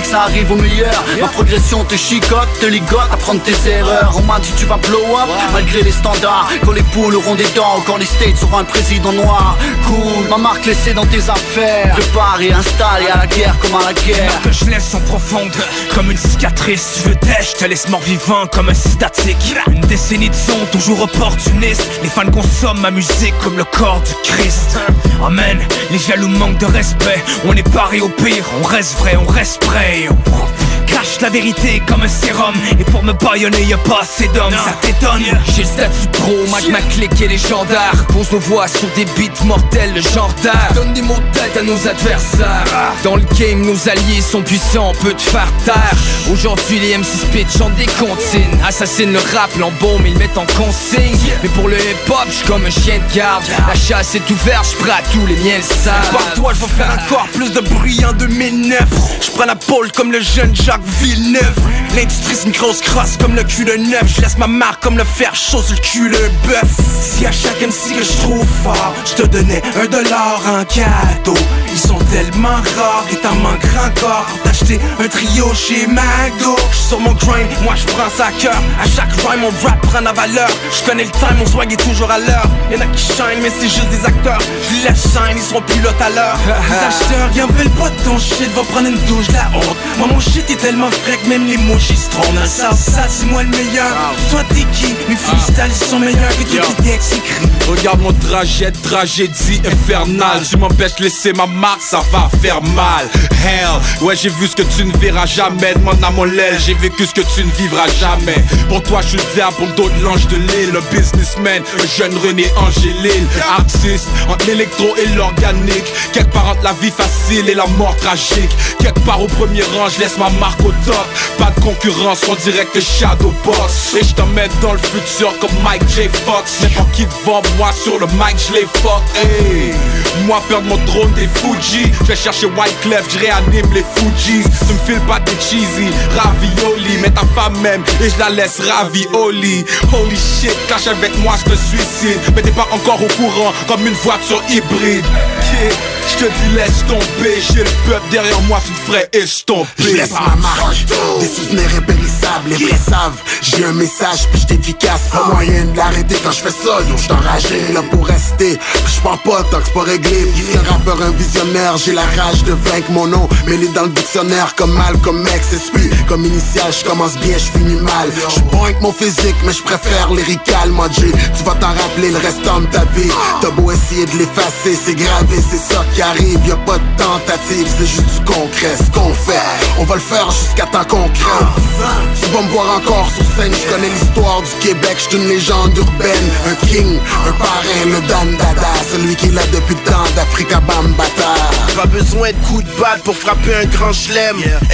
niveau meilleur. Ma progression te chicote, te ligote, apprendre tes erreurs. On m'a dit tu vas blow up, malgré les standards. Quand les poules auront des dents, quand les States auront un président noir. Cool, ma marque laissée dans tes affaires. Prépare et installe, et à la guerre comme à la guerre. Que je laisse sont profondes, comme une cicatrice. Je veux je te laisse mort vivant comme un cystatique. Une décennie de son, toujours opportuniste. Les fans consomment ma musique comme le corps du Christ. Amen, les jaloux manquent de respect. On est paré au pire, on reste vrai, on reste prêt. Cache la vérité comme un sérum. Et pour me baïonner y'a pas assez d'hommes. Ça t'étonne? J'ai le statut pro, Mac ma clique et légendaire. Pose nos voix sur des beats mortels, le genre d'art. Donne des mots de tête à nos adversaires. Dans le game, nos alliés sont puissants, on peut te faire taire. Aujourd'hui les MC Spit chantent des comptines. Assassinent le rap, l'embaume, ils mettent en consigne. Mais pour le hip-hop, j'suis comme un chien de garde. La chasse est ouverte, j'prends à tous les miens le savent. Par toi, j'vais faire encore plus de bruit en 2009. J'prends la pole comme le jeune Jacques Villeneuve. L'industrie c'est une grosse crosse comme le cul de neuf. J'laisse ma marque comme le fer chaud sur le cul de bœuf. Si à chaque MC que j'trouve fort, j'te donnais $1 en cadeau. Ils sont tellement rares et t'en manqueras encore pour t'acheter un trio chez McDo. J'suis sur mon grind, moi j'prends ça à cœur. À chaque rhyme mon rap prend la valeur. J'connais le time, mon swag est toujours à l'heure. Y'en a qui shine mais c'est juste des acteurs. J'les laisse shine, ils seront plus là tout à l'heure. Les acheteurs, y'en veulent pas de ton shit. Va prendre une douche, la honte. Moi mon shit est tellement frais que même les emojis se trompent. Dans le Southside c'est moi le meilleur. Toi t'es qui? Mes freestyles sont meilleurs que tous tes textes écrits. Regarde mon trajet, tragédie infernale. Tu m'empêches de laisser ma marque, ça va faire mal. Hell, ouais j'ai vu ce que tu ne verras jamais. Demande à mon l'aile, j'ai vécu ce que tu ne vivras jamais. Pour toi je suis le diable, pour d'autres l'ange de l'île. Un businessman, un jeune René Angélil. Artiste, entre l'électro et l'organique. Quelque part entre la vie facile et la mort tragique. Quelque part au premier rang, je laisse ma marque au top. Pas de concurrence, on dirait que Shadowbox. Et je t'emmène dans le futur comme Mike J. Fox. N'importe qui devant moi sur le mic, je les fuck. Hey. Moi perdre mon trône des Fuji. Je vais chercher Wyclef, je réanime les Fujis. Tu me files pas des cheesy, ravioli. Mais ta femme même et je la laisse ravioli. Holy shit, cache avec moi, je te suicide. Mais t'es pas encore au courant comme une voiture hybride. Yeah. Je te dis laisse tomber, j'ai le peuple derrière moi, tu te ferais estomper. Je laisse ma marque, des souvenirs impérissables. Les vrais savent, j'ai un message puis j'suis efficace. Pas moyen de l'arrêter quand je fais ça, yo j'suis enragé. Là pour rester, puis j'pars pas tant que c'est pas réglé. Puis un rappeur, un visionnaire, j'ai la rage de vaincre mon nom. Mêlé dans le dictionnaire comme mal, comme mec, c'est celui. Comme initial, j'commence bien, j'finis mal. J'suis bon avec mon physique, mais j'préfère lyrical, mon G. Tu vas t'en rappeler le restant de ta vie. T'as beau essayer de l'effacer, c'est gravé, c'est ça qui arrive. Y'a pas de tentative, c'est juste du concret. Ce qu'on fait, on va le faire jusqu'à temps qu'on crève. Tu vas me voir encore sur scène, je connais l'histoire du Québec, je suis une légende urbaine. Un king, un parrain, le Dan Dada, celui qui est là depuis le temps d'Africa Bambata. Pas besoin de coups de batte pour frapper un grand chelem.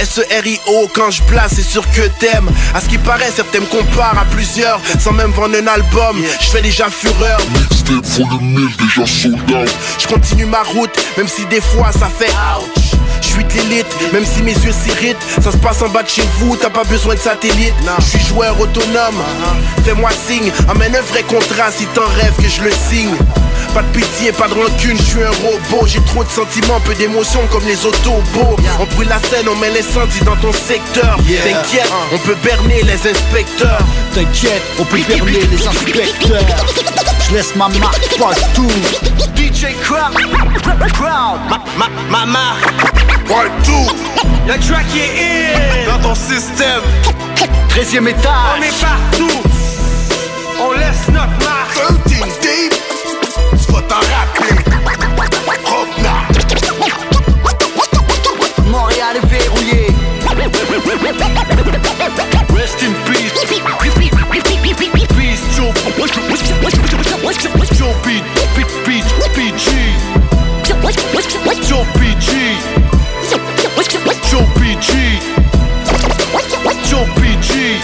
SERIO, quand je place, c'est sûr que t'aimes. À ce qui paraît, certains me comparent à plusieurs, sans même vendre un album, je fais déjà fureur. Mixtape for the mill, déjà sold out. Je continue ma route, même si des fois ça fait ouch. Je suis de l'élite, même si mes yeux s'irritent. Ça se passe en bas de chez vous, t'as pas besoin de satellite. Je suis joueur autonome, fais-moi signe. Emmène un vrai contrat si t'en rêves que je le signe. Pas de pitié, pas de rancune, je suis un robot. J'ai trop de sentiments, peu d'émotions comme les autobots. On brûle la scène, on met l'incendie dans ton secteur. T'inquiète, on peut berner les inspecteurs. T'inquiète, on peut berner les inspecteurs. Je laisse ma marque partout. DJ Crowd, ma marque. Part 2. Le track est in dans ton système. 13e étage. On est partout. On laisse notre marque. 13 deep. Tu vas t'en rappeler. Montréal est verrouillé. Rest in peace. Peace, Joe. Joe PG. Joe PG. Joe PG. Joe PG.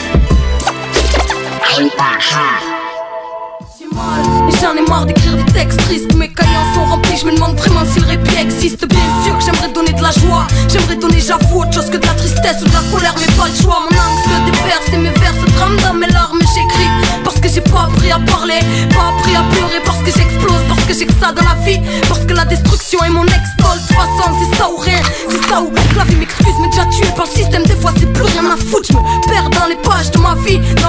J'en ai marre d'écrire des textes tristes, mes cahiers sont remplis, je me demande vraiment si le répit existe. Bien sûr que j'aimerais donner de la joie, j'aimerais donner j'avoue autre chose que de la tristesse ou de la colère, mais pas le choix. Mon langue se déverse et mes vers se trament dans mes larmes. J'écris parce que j'ai pas appris à parler, pas appris à pleurer, parce que j'explose, parce que j'ai que ça dans la vie, parce que la destruction est mon ex-tol. De toute façon c'est ça ou rien, c'est ça ou que la vie m'excuse, mais déjà tué par le système. Des fois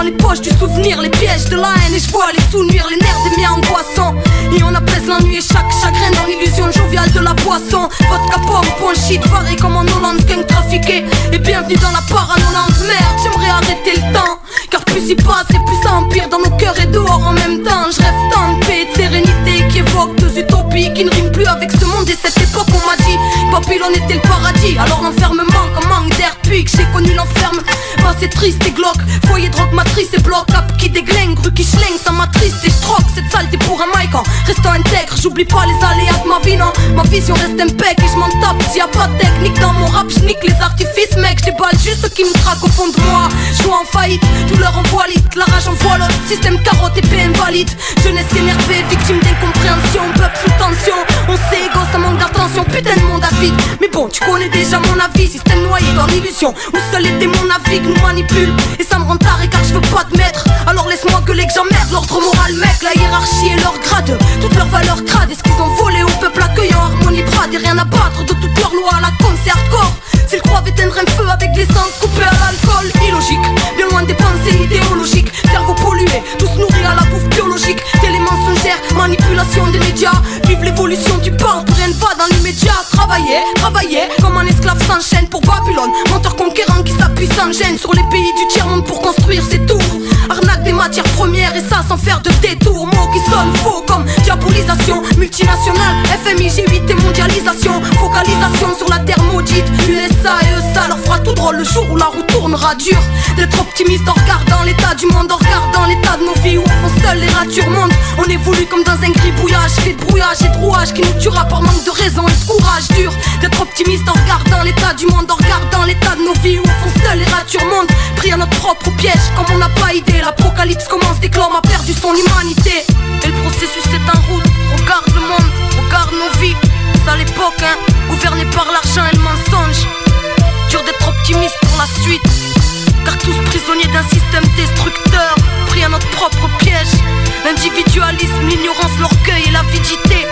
dans les poches du souvenir, les pièges de la haine. Et je vois les sous-nuire, les nerfs des miens angoissants. Et on apaise l'ennui et chaque chagrin dans l'illusion joviale de la boisson. Vodka pomme, point shit, varé comme en Hollande, gang trafiqué. Et bienvenue dans la paranoïde. Merde, j'aimerais arrêter le temps, car plus y passe et plus ça empire dans nos cœurs et dehors en même temps. Je rêve tant de paix et de sérénité qui évoque deux utopies qui ne riment plus avec ce monde et cette époque. On m'a dit Babylone était le paradis, alors l'enfermement comme manque d'air. Depuis que j'ai connu l'enferme, bah c'est triste et glauque. Foyer drogue matrice et bloc up qui déglingue, rue qui schlingue, ça m'attriste et je troque cette saleté pour un mic en restant intègre. J'oublie pas les aléas de ma vie, non. Ma vision reste impec et je m'en tape. S'il y a pas de technique dans mon rap, je nique les artifices, mec. Je déballe juste ce qui me traque au fond de moi. Je vois en faillite, douleur en voile, la rage en voile, système carotte épée invalide. Jeunesse énervée, victime d'incompréhension, peuple sous tension. On sait égo, ça manque d'attention, putain de monde avide. Mais bon, tu connais déjà mon avis, système noyé dans l'illusion où seuls les démons naviguent, nous manipulent. Et ça me rend taré car je veux pas admettre. Alors laisse-moi gueuler que j'emmerde l'ordre moral, mec. La hiérarchie et leur grade, toutes leurs valeurs crades. Est-ce qu'ils ont volé au peuple accueillant harmonie brade et rien à battre de toutes leurs lois à la con, c'est hardcore. S'ils croient éteindre un feu avec l'essence coupée à l'alcool, illogique, bien loin des pensées idéologiques. Cerveau pollué, tous nourris à la bouffe biologique. Télé mensongère, manipulation des médias. Vive l'évolution du port, rien ne va dans l'immédiat. Travailler, travailler, comme un esclave s'enchaîne pour Babylone. Menteur conquérant qui s'appuie sans gêne sur les pays du tiers-monde pour construire ses tours. Arnaque des matières premières et ça sans faire de détour. Mots qui sonnent faux comme diabolisation. Multinationale, FMI, G8 et mondialisation. Focalisation sur la terre maudite. USA et eux ça leur fera tout drôle le jour où la roue tournera dur. D'être optimiste en regardant l'état du monde, en regardant l'état de nos vies où au fond seuls les ratures montent. On évolue comme dans un gribouillage fait de brouillage et de rouage qui nous tuera par manque de raison et de courage dur. D'être optimiste en regardant l'état du monde, en regardant l'état de nos vies où au fond seuls les ratures montent. Pris à notre propre piège comme on n'a pas idée. L'apocalypse commence dès que l'homme a perdu son humanité. Et le processus est en route. Regarde le monde, regarde nos vies. C'est à l'époque, hein, gouverné par l'argent et le mensonge. Dur d'être optimiste pour la suite, car tous prisonniers d'un système destructeur. Pris à notre propre piège. L'individualisme, l'ignorance, l'orgueil et l'avidité.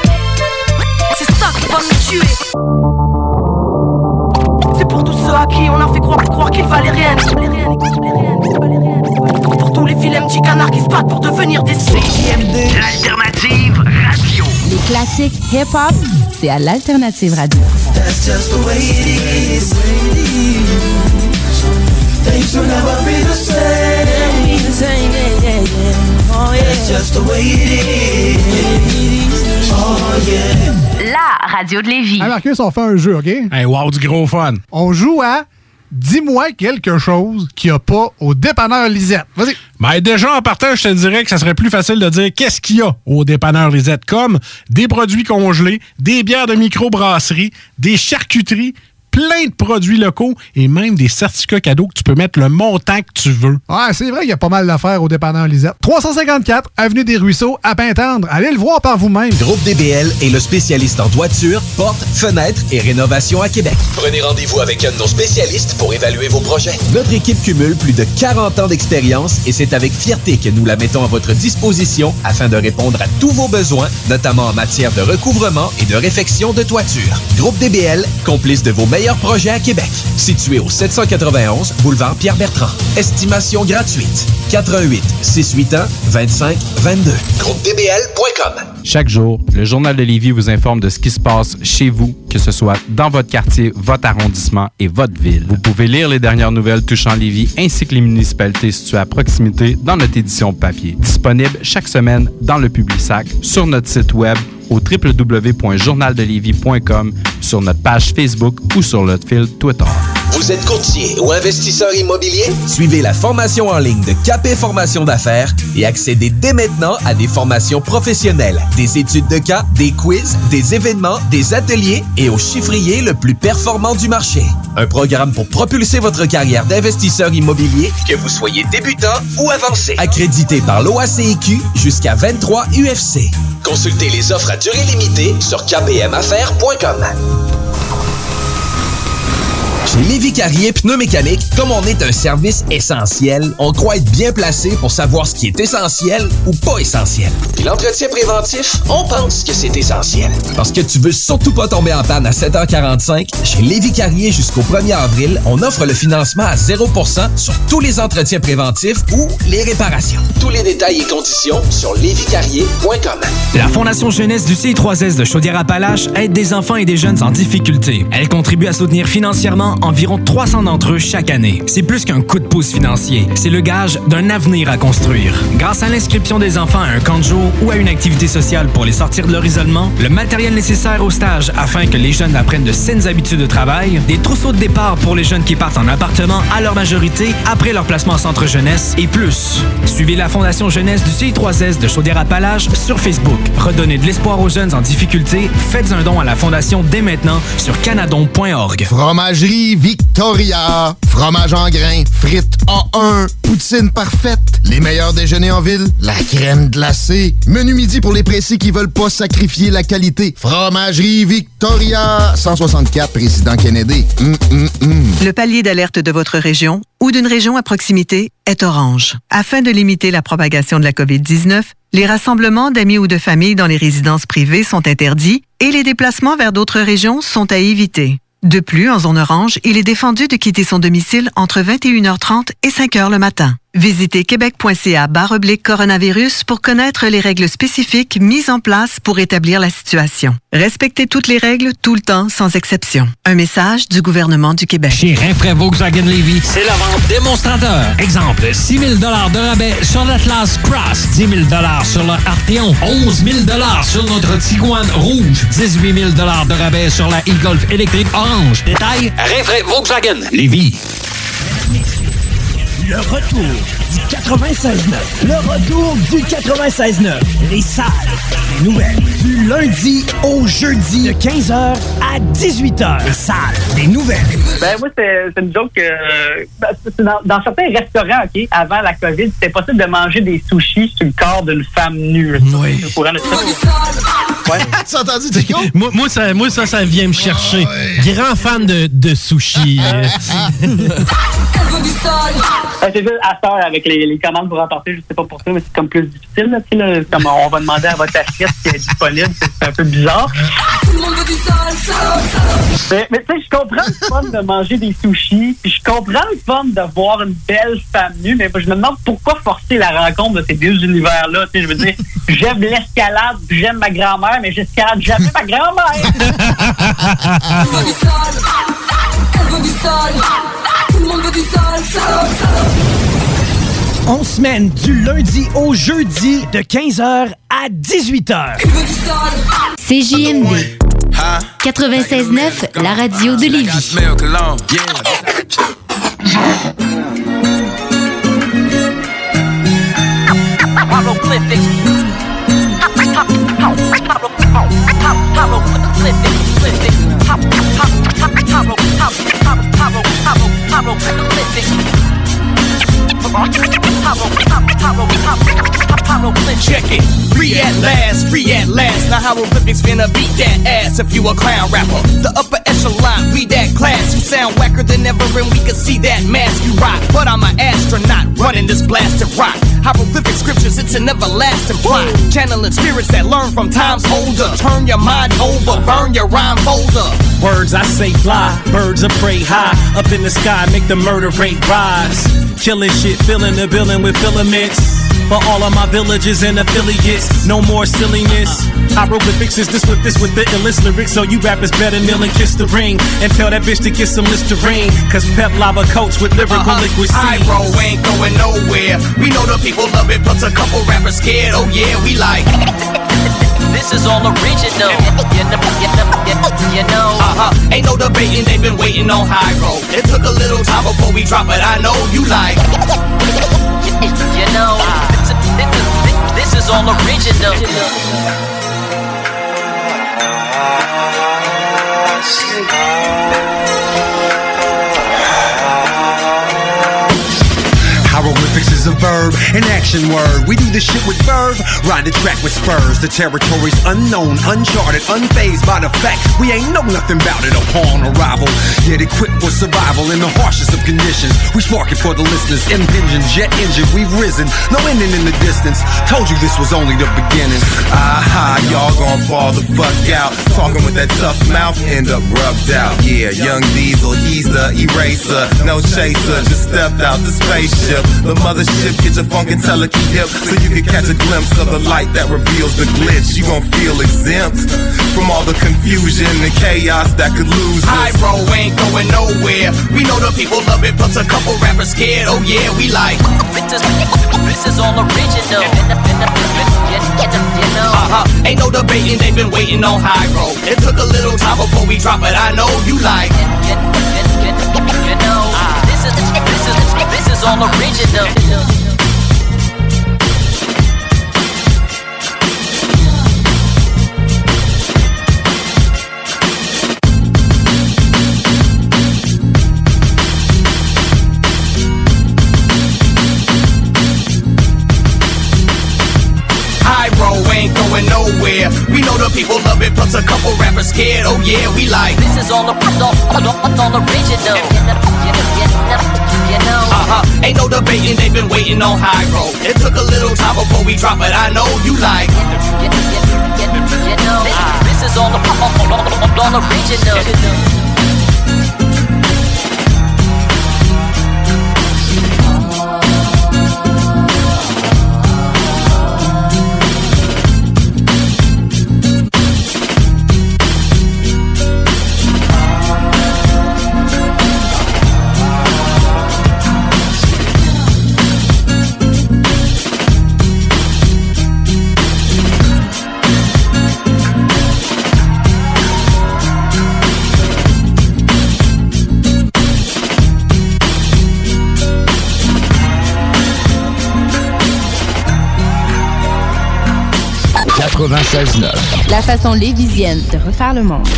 C'est ça qui va nous tuer. C'est pour tous ceux à qui on a fait croire qu'ils valaient rien. Pour tous les vilains petits canards qui se battent pour devenir des CJMD. L'alternative radio. Les classiques hip-hop, c'est à l'alternative radio. That's just the way it is. Things will never be the same. Oh yeah. That's just the way it is. Oh yeah. La radio de Lévis. Hey Marcus, on fait un jeu, OK? Hey, wow, du gros fun. On joue à Dis-moi quelque chose qu'il n'y a pas au dépanneur Lisette. Vas-y. Ben déjà, en partant, je te dirais que ça serait plus facile de dire qu'est-ce qu'il y a au dépanneur Lisette, comme des produits congelés, des bières de microbrasserie, des charcuteries, plein de produits locaux et même des certificats cadeaux que tu peux mettre le montant que tu veux. Ouais, c'est vrai qu'il y a pas mal d'affaires au dépanneur Lisette. 354 Avenue des Ruisseaux, à Pintendre. Allez le voir par vous-même. Groupe DBL est le spécialiste en toiture, portes, fenêtres et rénovation à Québec. Prenez rendez-vous avec un de nos spécialistes pour évaluer vos projets. Notre équipe cumule plus de 40 ans d'expérience et c'est avec fierté que nous la mettons à votre disposition afin de répondre à tous vos besoins, notamment en matière de recouvrement et de réfection de toiture. Groupe DBL, complice de vos meilleurs projets à Québec. Situé au 791 boulevard Pierre-Bertrand. Estimation gratuite. 88 681 25 22. GroupeDBL.com. Chaque jour, le Journal de Lévis vous informe de ce qui se passe chez vous, que ce soit dans votre quartier, votre arrondissement et votre ville. Vous pouvez lire les dernières nouvelles touchant Lévis ainsi que les municipalités situées à proximité dans notre édition papier. Disponible chaque semaine dans le Publisac, sur notre site web au www.journaldelévis.com, sur notre page Facebook ou sur notre fil Twitter. Vous êtes courtier ou investisseur immobilier? Suivez la formation en ligne de Capé Formation d'affaires et accédez dès maintenant à des formations professionnelles, des études de cas, des quiz, des événements, des ateliers et au chiffrier le plus performant du marché. Un programme pour propulser votre carrière d'investisseur immobilier, que vous soyez débutant ou avancé. Accrédité par l'OACIQ jusqu'à 23 UFC. Consultez les offres à durée limitée sur kpmaffaires.com. Chez Lévis Carrier Pneumécanique, comme on est un service essentiel, on croit être bien placé pour savoir ce qui est essentiel ou pas essentiel. Puis l'entretien préventif, on pense que c'est essentiel. Parce que tu veux surtout pas tomber en panne à 7h45, chez Lévis Carrier jusqu'au 1er avril, on offre le financement à 0% sur tous les entretiens préventifs ou les réparations. Tous les détails et conditions sur léviscarrier.com. La Fondation Jeunesse du CI3S de Chaudière-Appalaches aide des enfants et des jeunes en difficulté. Elle contribue à soutenir financièrement environ 300 d'entre eux chaque année. C'est plus qu'un coup de pouce financier, c'est le gage d'un avenir à construire. Grâce à l'inscription des enfants à un camp de jour ou à une activité sociale pour les sortir de leur isolement, le matériel nécessaire au stage afin que les jeunes apprennent de saines habitudes de travail, des trousseaux de départ pour les jeunes qui partent en appartement à leur majorité après leur placement en centre jeunesse et plus. Suivez la Fondation Jeunesse du CI3S de Chaudière-Appalaches sur Facebook. Redonnez de l'espoir aux jeunes en difficulté. Faites un don à la Fondation dès maintenant sur canadon.org. Fromagerie Victoria. Fromage en grains, frites A1, poutine parfaite, les meilleurs déjeuners en ville, la crème glacée, menu midi pour les pressés qui veulent pas sacrifier la qualité. Fromagerie Victoria. 164 Président Kennedy. Le palier d'alerte de votre région ou d'une région à proximité est orange. Afin de limiter la propagation de la COVID-19, les rassemblements d'amis ou de familles dans les résidences privées sont interdits et les déplacements vers d'autres régions sont à éviter. De plus, en zone orange, il est défendu de quitter son domicile entre 21h30 et 5h le matin. Visitez québec.ca/coronavirus pour connaître les règles spécifiques mises en place pour établir la situation. Respectez toutes les règles tout le temps, sans exception. Un message du gouvernement du Québec. Chez Rinfraie Volkswagen Lévis, c'est la vente démonstrateur. Exemple, 6 000 $ de rabais sur l'Atlas Cross, 10 000 $ sur le Arteon, 11 000 $ sur notre Tiguan Rouge, 18 000 $ de rabais sur la e-Golf électrique orange. Détail, Rinfraie Volkswagen Lévis. Le retour du 96.9. Le retour du 96.9. Les salles des nouvelles. Du lundi au jeudi de 15h à 18h. Les salles des nouvelles. Ben moi, c'est une joke que... dans certains restaurants, OK, avant la COVID, c'était possible de manger des sushis sur le corps d'une femme nue. Oui. Au courant de ça. Ouais. Tu as entendu, Tico? Moi, ça vient me chercher. Grand fan de sushi. C'est juste à faire avec les commandes pour emporter, je sais pas pour ça, mais c'est comme plus difficile. Là, comme on va demander à votre assiette qui est disponible, c'est un peu bizarre. Tout le monde veut du sale. Mais tu sais, je comprends le fun de manger des sushis, puis je comprends le fun de voir une belle femme nue, mais je me demande pourquoi forcer la rencontre de ces deux univers-là. Je veux dire, j'aime l'escalade, j'aime ma grand-mère, mais j'escalade jamais ma grand-mère. Elle veut du sale. Elle veut du sale. Tout le monde veut du sale. On semaine du lundi au jeudi de 15h à 18h. CJMD 96.9, la radio de Lévis. Check it, free at last, free at last. Now hieroglyphics finna beat that ass if you a clown rapper. The upper echelon, we that class. You sound whacker than ever and we can see that mask you rock. But I'm an astronaut running this blasted rock. Hieroglyphic scriptures, it's an everlasting plot. Channeling spirits that learn from times older. Turn your mind over, burn your rhyme folder. Words I say fly, birds of prey high. Up in the sky, make the murder rate rise. Killing shit, filling the building with filaments. For all of my villages and affiliates, no more silliness. Hieroglyphics is this with the illest lyrics. So you rappers better kneel and kiss the ring. And tell that bitch to get some Listerine. Cause Pep Lava coats with lyrical liquid C. Pyro ain't going nowhere. We know the people love it, plus a couple rappers scared. Oh yeah, we like this is all original. You know. Ain't no debating, they've been waiting on Hyro. It took a little time before we drop it, I know you like. You know, this is all original. Hieroglyphics is a verb, An action word, we do this shit with verve. Ride the track with spurs. The territory's unknown, uncharted, unfazed by the fact we ain't know nothing about it upon arrival. Yet equipped for survival in the harshest of conditions. We spark it for the listeners. Impinging jet engine, we've risen. No ending in the distance. Told you this was only the beginning. Aha, y'all gon' fall the fuck out. Talking with that tough mouth, end up rubbed out. Yeah, young Diesel, he's the eraser. No chaser, just stepped out the spaceship. The mothership, get your funk and telekinetic hip, so you can catch a glimpse of the light that reveals the glitch. You gon' feel exempt from all the confusion and chaos that could lose us. High road ain't going nowhere. We know the people love it, plus a couple rappers scared. Oh yeah, we like this is all original. You know. Ain't no debating, they've been waiting on high road. It took a little time before we drop it. I know you like you know. This is all original. Ain't going nowhere. We know the people love it, plus a couple rappers scared. Oh yeah, we like this is all original. You know. Ain't no debating, they've been waiting on high road. It took a little time before we drop it. I know you like you know. This is all original. La façon lévisienne de refaire le monde.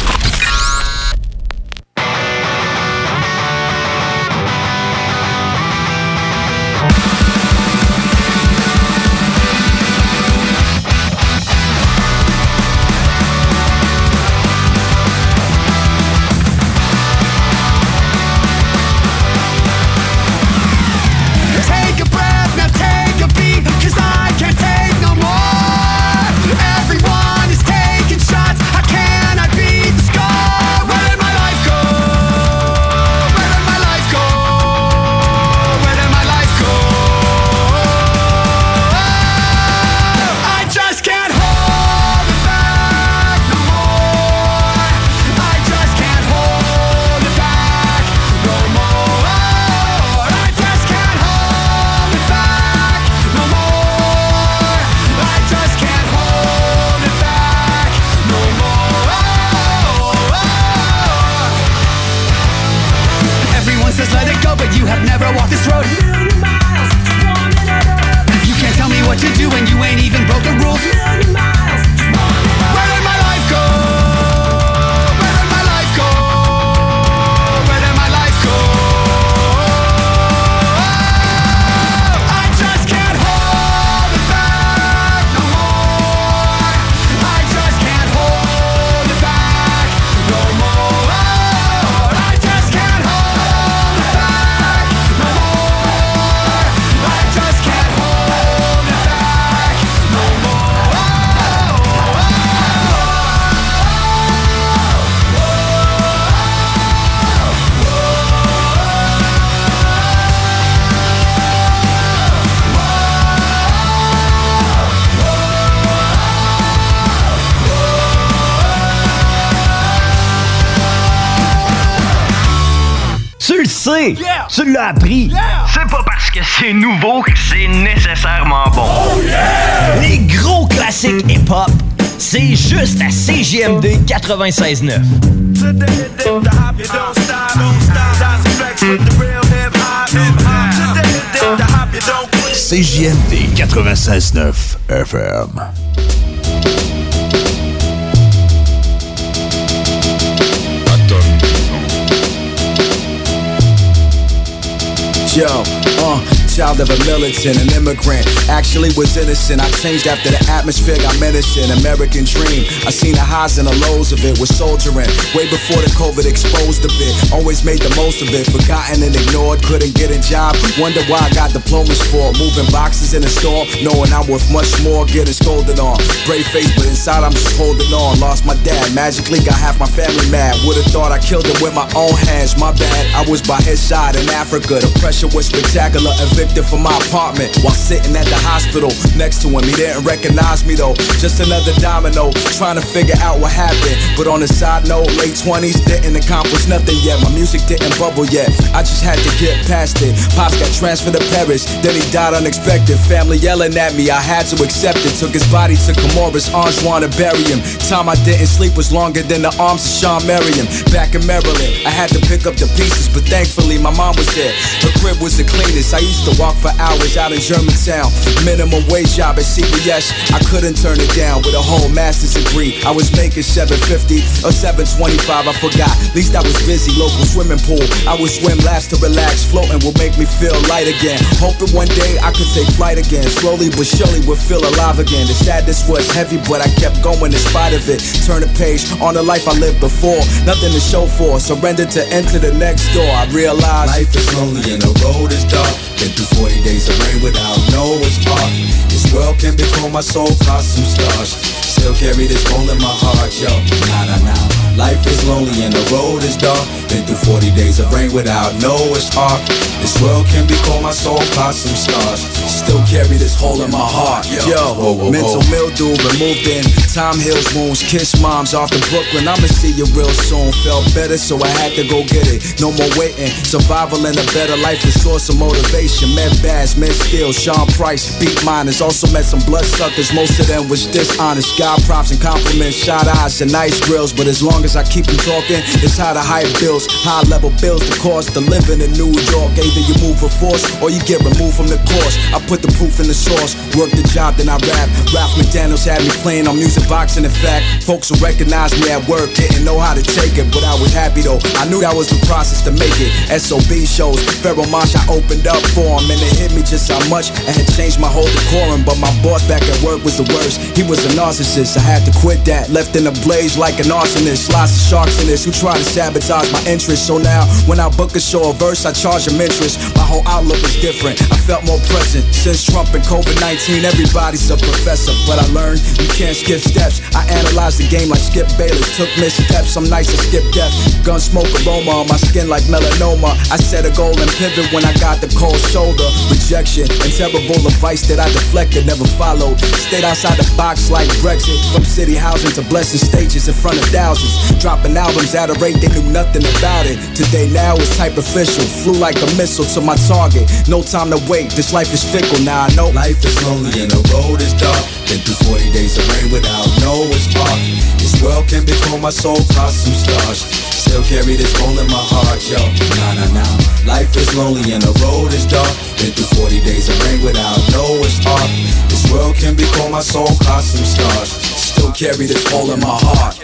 Yeah. Tu l'as appris. Yeah. C'est pas parce que c'est nouveau que c'est nécessairement bon. Oh yeah. Les gros classiques hip-hop, c'est juste à CJMD 96.9. CJMD 96.9 FM. Yo, child of a militant, an immigrant. Actually was innocent. I changed after the atmosphere got menacing. American dream. I seen the highs and the lows of it. Was soldiering way before the COVID exposed a bit. Always made the most of it. Forgotten and ignored. Couldn't get a job. Wonder why I got diplomas for. Moving boxes in the store, knowing I'm worth much more. Getting scolded on. Brave face, but inside I'm just holding on. Lost my dad. Magically got half my family mad. Would've thought I killed him with my own hands. My bad. I was by his side in Africa. The pressure was spectacular. Evicted from my apartment while sitting at the hospital next to him. He didn't recognize me though. Just another domino. Trying to figure out what happened. But on the side note, late 20s didn't accomplish nothing yet. My music didn't bubble yet. I just had to get past it. Pops got transferred to Paris. Then he died unexpected. Family yelling at me. I had to accept it. Took his body to Comoros, Anjouan to bury him. Time I didn't sleep was longer than the arms of Sean Merriam. Back in Maryland, I had to pick up the pieces, but thankfully my mom was there. Her crib was the cleanest. I used to walk for hours out in Germantown. Minimum wage job at CBS. I couldn't turn it down with a whole master's degree. I was making $7.50 or $7.25. I forgot. At least I was busy. Local swimming pool. I would swim laps to relax. Floating will make me feel light again. Hoping one day I could take flight again. Slowly but surely would feel alive again. The sadness was heavy, but I kept going in spite of it. Turn the page on the life I lived before. Nothing to show for. Surrender to enter the next door. I realized life is lonely and the road is dark. Been through 40 days of rain without no spark. This world can become my soul, cause some stars. Still carry this hole in my heart, yo. Nah. Life is lonely and the road is dark. Been through 40 days of rain without no spark. This world can become my soul, cause some stars. Still carry this hole in my heart, yo. Mental mildew removed in. Time heals wounds. Kiss moms off to Brooklyn. I'ma see you real soon. Felt better, so I had to go get it. No more waiting. Survival and a better life is source of motivation. Met Bass, met Steel, Sean Price, beat miners. Also met some bloodsuckers. Most of them was dishonest. God props and compliments, shot eyes and nice grills. But as long as I keep them talking, it's how to high bills, high level bills, the cost of living in New York. Either you move with force or you get removed from the course. I put the proof in the source, work the job, then I rap. Ralph McDaniels had me playing on music boxing. In fact, folks who recognized me at work didn't know how to take it, but I was happy though. I knew that was the process to make it. SOB shows, Pharaoh Marsh I opened up for him, and it hit me just how much I had changed my whole decorum. But my boss back at work was the worst. He was a narcissist. I had to quit that, left in a blaze like an arsonist. Lots of sharks in this who try to sabotage my interest. So now when I book a show or verse, I charge them interest. My whole outlook is different. I felt more present since Trump and COVID-19. Everybody's a professor, but I learned you can't skip steps. I analyzed the game like Skip Bayless. Took missteps, some nights I skipped death. Gun smoke aroma on my skin like melanoma. I set a goal and pivot when I got the cold shoulder. Rejection and terrible advice that I deflected, never followed. Stayed outside the box like Brexit. From city housing to blessing stages in front of thousands. Dropping albums at a rate they knew nothing about it. Today now is type official. Flew like a missile to my target. No time to wait, this life is fickle. Now I know life is lonely and the road is dark. Been through 40 days of rain without no spark. This world can become my soul, cause some stars. Still carry this hole in my heart, yo. Nah. Life is lonely and the road is dark. Been through 40 days of rain without no spark. This world can become my soul, cause some stars. Still carry this hole in my heart.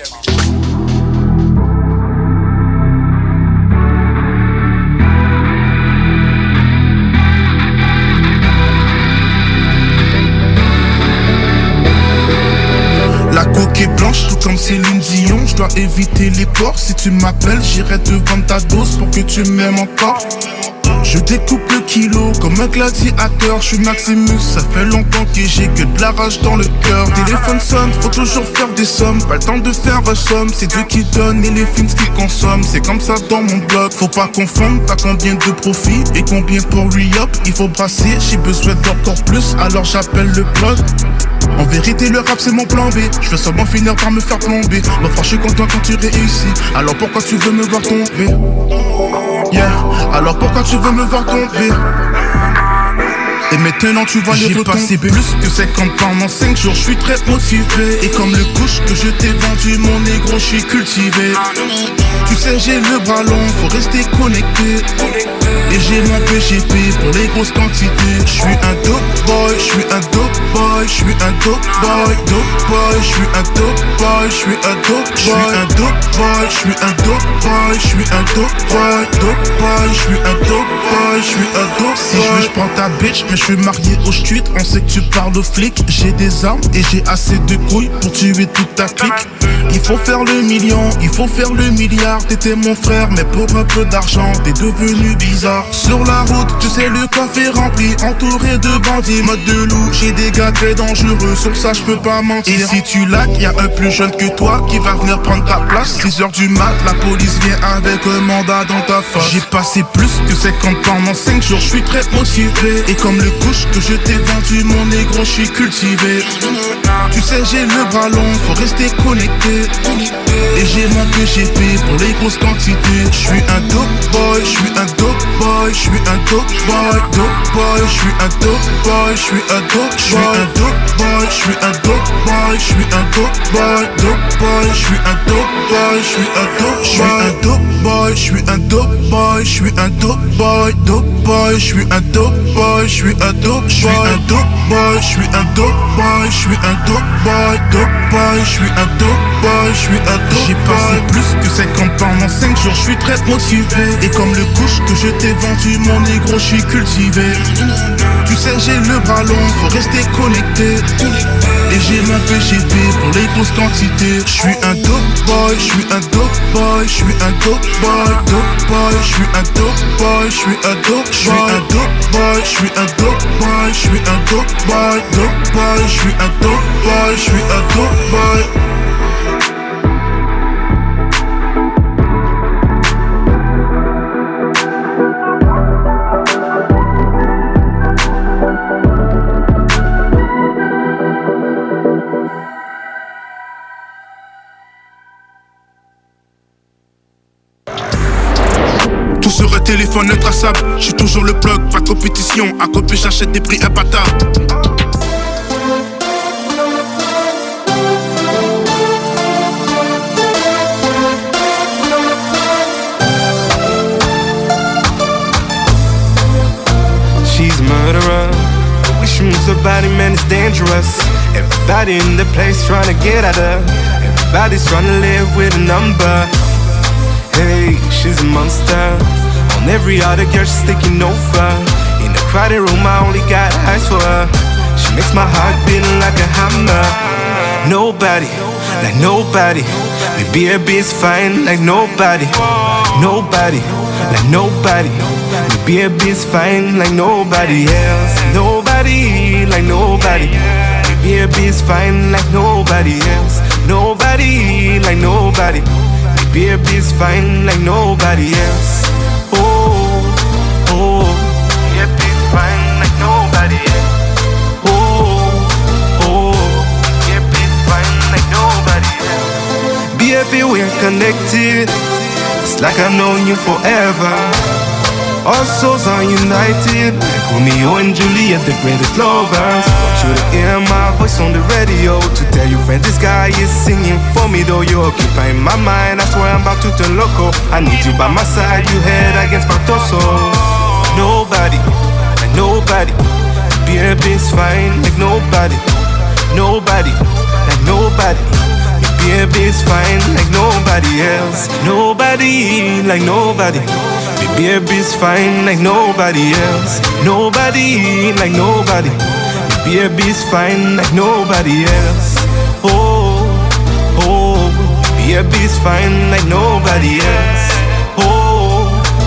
La coque est blanche, tout comme Céline Dion. Je dois éviter les ports. Si tu m'appelles, j'irai te vendre ta dose pour que tu m'aimes encore. Je découpe le kilo comme un gladiateur. Je suis Maximus, ça fait longtemps que j'ai que de la rage dans le cœur. Téléphone sonne, faut toujours faire des sommes. Pas le temps de faire un somme, c'est Dieu qui donne et les films qui consomment. C'est comme ça dans mon blog, faut pas confondre. T'as combien de profit et combien pour re-up. Il faut brasser, j'ai besoin d'encore plus, alors j'appelle le blog. En vérité le rap c'est mon plan B. Je veux seulement finir par me faire plomber. Ma frère je suis content quand tu réussis. Alors pourquoi tu veux me voir tomber? Yeah. Alors pourquoi tu veux me voir tomber? Et maintenant tu vois les retombées. J'ai passé plus que 50 pendant 5 jours, je suis très motivé. Et comme le couche que je t'ai vendu, mon négro, je suis cultivé. Tu sais j'ai le bras long, faut rester connecté. Et j'ai mon PGP pour les grosses quantités. Je suis un dope boy, je suis un dope boy. je suis un dope boy, je suis un dope boy, je suis un dope boy, je suis un dope boy, je suis un dope boy, je suis un dope boy, je suis un dope boy, je suis un dope. Si je veux, je prends ta bitch, mais je suis marié au street. On sait que tu parles aux flics. J'ai des armes et j'ai assez de couilles pour tuer toute ta clique. Il faut faire le million, il faut faire le milliard. T'étais mon frère, mais pour un peu d'argent, t'es devenu bizarre. Sur la route, tu sais, le coffre est rempli, entouré de bandits, mode de loup. J'ai des gars très dangereux, sur ça je peux pas mentir. Et si tu laques, y'a un plus jeune que toi qui va venir prendre ta place. 6h du mat, la police vient avec un mandat dans ta face. J'ai passé plus que 50 pendant 5 jours, je suis très motivé. Et comme le couche que je t'ai vendu, mon négro, je suis cultivé. Tu sais, j'ai le bras long, faut rester connecté. Et j'ai mon PGP pour les grosses quantités. Je suis un dope boy, je suis un dope boy, je suis un dope boy, dope boy, je suis un dope boy, je suis un dope, je suis un dope boy, je suis un dope boy, je suis un dope boy, dope boy, je suis un dope boy, je suis un dope, je suis un dope boy, je suis un dope boy, je suis un dope boy, dope boy, je suis un dope boy, je suis un dope, je suis un dope boy, je suis un dope boy, je suis un dope boy, dope boy, je suis un dope boy, je suis un dope. J'ai passé plus que 50 pendant 5 jours, je suis très motivé. Et comme le couche que je t'ai vendu, mon négro, je suis cultivé. Tu sais, j'ai le bras long, faut rester connecté. Et j'ai mon PGP pour les grosses quantités. Je suis un dope boy, je suis un dope boy, je suis un dope boy, dope boy, je suis un dope boy, je suis un dope, je suis un dope boy, je suis un dope boy, je suis un dope boy, dope boy, je suis un dope boy, je suis un dope boy. Tout sur un téléphone intraçable. J'suis toujours le plug, pas de compétition. À copier, j'achète des prix imbattables. She's a murderer. The way she moves her body, man, it's dangerous. Everybody in the place trying to get at her. Everybody's trying to live with a number. Hey, she's a monster. On every other girl, she's taking over. In a crowded room, I only got eyes for her. She makes my heart beat like a hammer. Nobody, like nobody. Maybe a bit's fine like nobody. Nobody, like nobody. Maybe a bit's fine like nobody else. Nobody, like nobody. Maybe a bit's fine like nobody else. Nobody, like nobody. Baby's fine like nobody else. Oh, oh. Baby's fine like nobody else. Oh, oh. Baby's fine like nobody else. Baby, we're connected. It's like I've known you forever. Our souls are united, like Romeo and Juliet, the greatest lovers. Want you to hear my voice on the radio to tell your friend this guy is singing for me. Though you're occupying my mind, I swear I'm about to turn loco. I need you by my side, you head against my torso. Nobody, like nobody. Baby's fine like nobody. Nobody, like nobody. Baby's fine like nobody else. Nobody, like nobody. Baby's fine like nobody else. Nobody, like nobody. Baby's fine like nobody else. Oh, oh. Baby's fine like nobody else. Oh,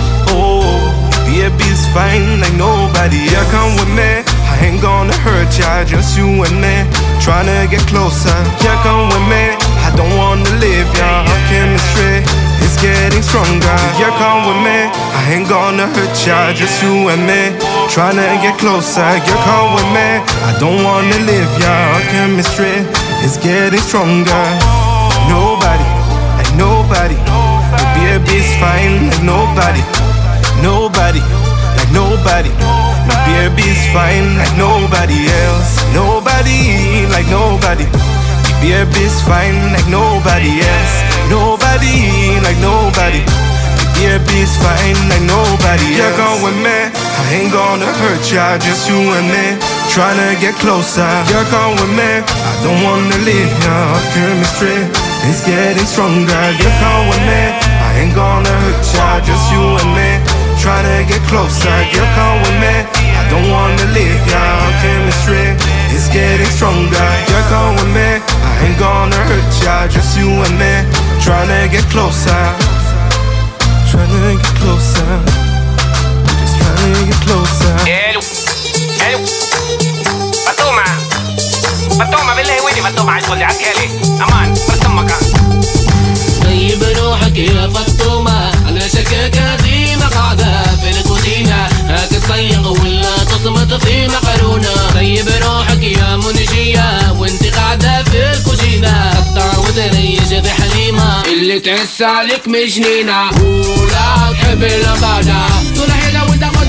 oh. Baby's fine like nobody else. Yeah, come with me. I ain't gonna hurt ya, just you and me. Tryna get closer. Yeah, come with me. I don't wanna live ya. Our chemistry is getting stronger. Yeah, come with me. I ain't gonna hurt ya, just you and me. Tryna get closer. Yeah, come with me. I don't wanna live ya. Our chemistry is getting stronger. Nobody, like nobody. The baby's fine like nobody. Nobody, like nobody. My baby's fine like nobody else. Nobody, like nobody. My baby's fine like nobody else. Nobody, like nobody. My baby's fine like nobody else. Yeah, come with me. I ain't gonna hurt ya, just you and me. trying to get closer. Girl, come with me, I don't wanna leave ya. Chemistry is getting stronger. Girl, come with me, I ain't gonna hurt ya. Just you and me, trying to get closer. Girl, come with me, I don't wanna leave ya. Chemistry is getting stronger. Girl, come with me, I ain't gonna hurt ya. Just you and me, trying to get closer. Trying to get closer. Just trying to get closer. Hello, hello. فطومة بالله ويني فطومة عايز تقول لي عالكالي أمان فرطم مكان طيب روحك يا فطومة على شكاكة قديمة قاعدة في الكوزينة هتتصيغ ولا تصمت في مقرونة طيب روحك يا منجية وانت قاعدة في الكوزينة قطع وتريش في حليمة اللي تحس عليك مجنينة ولا تحب الغدا طول حيلة وانت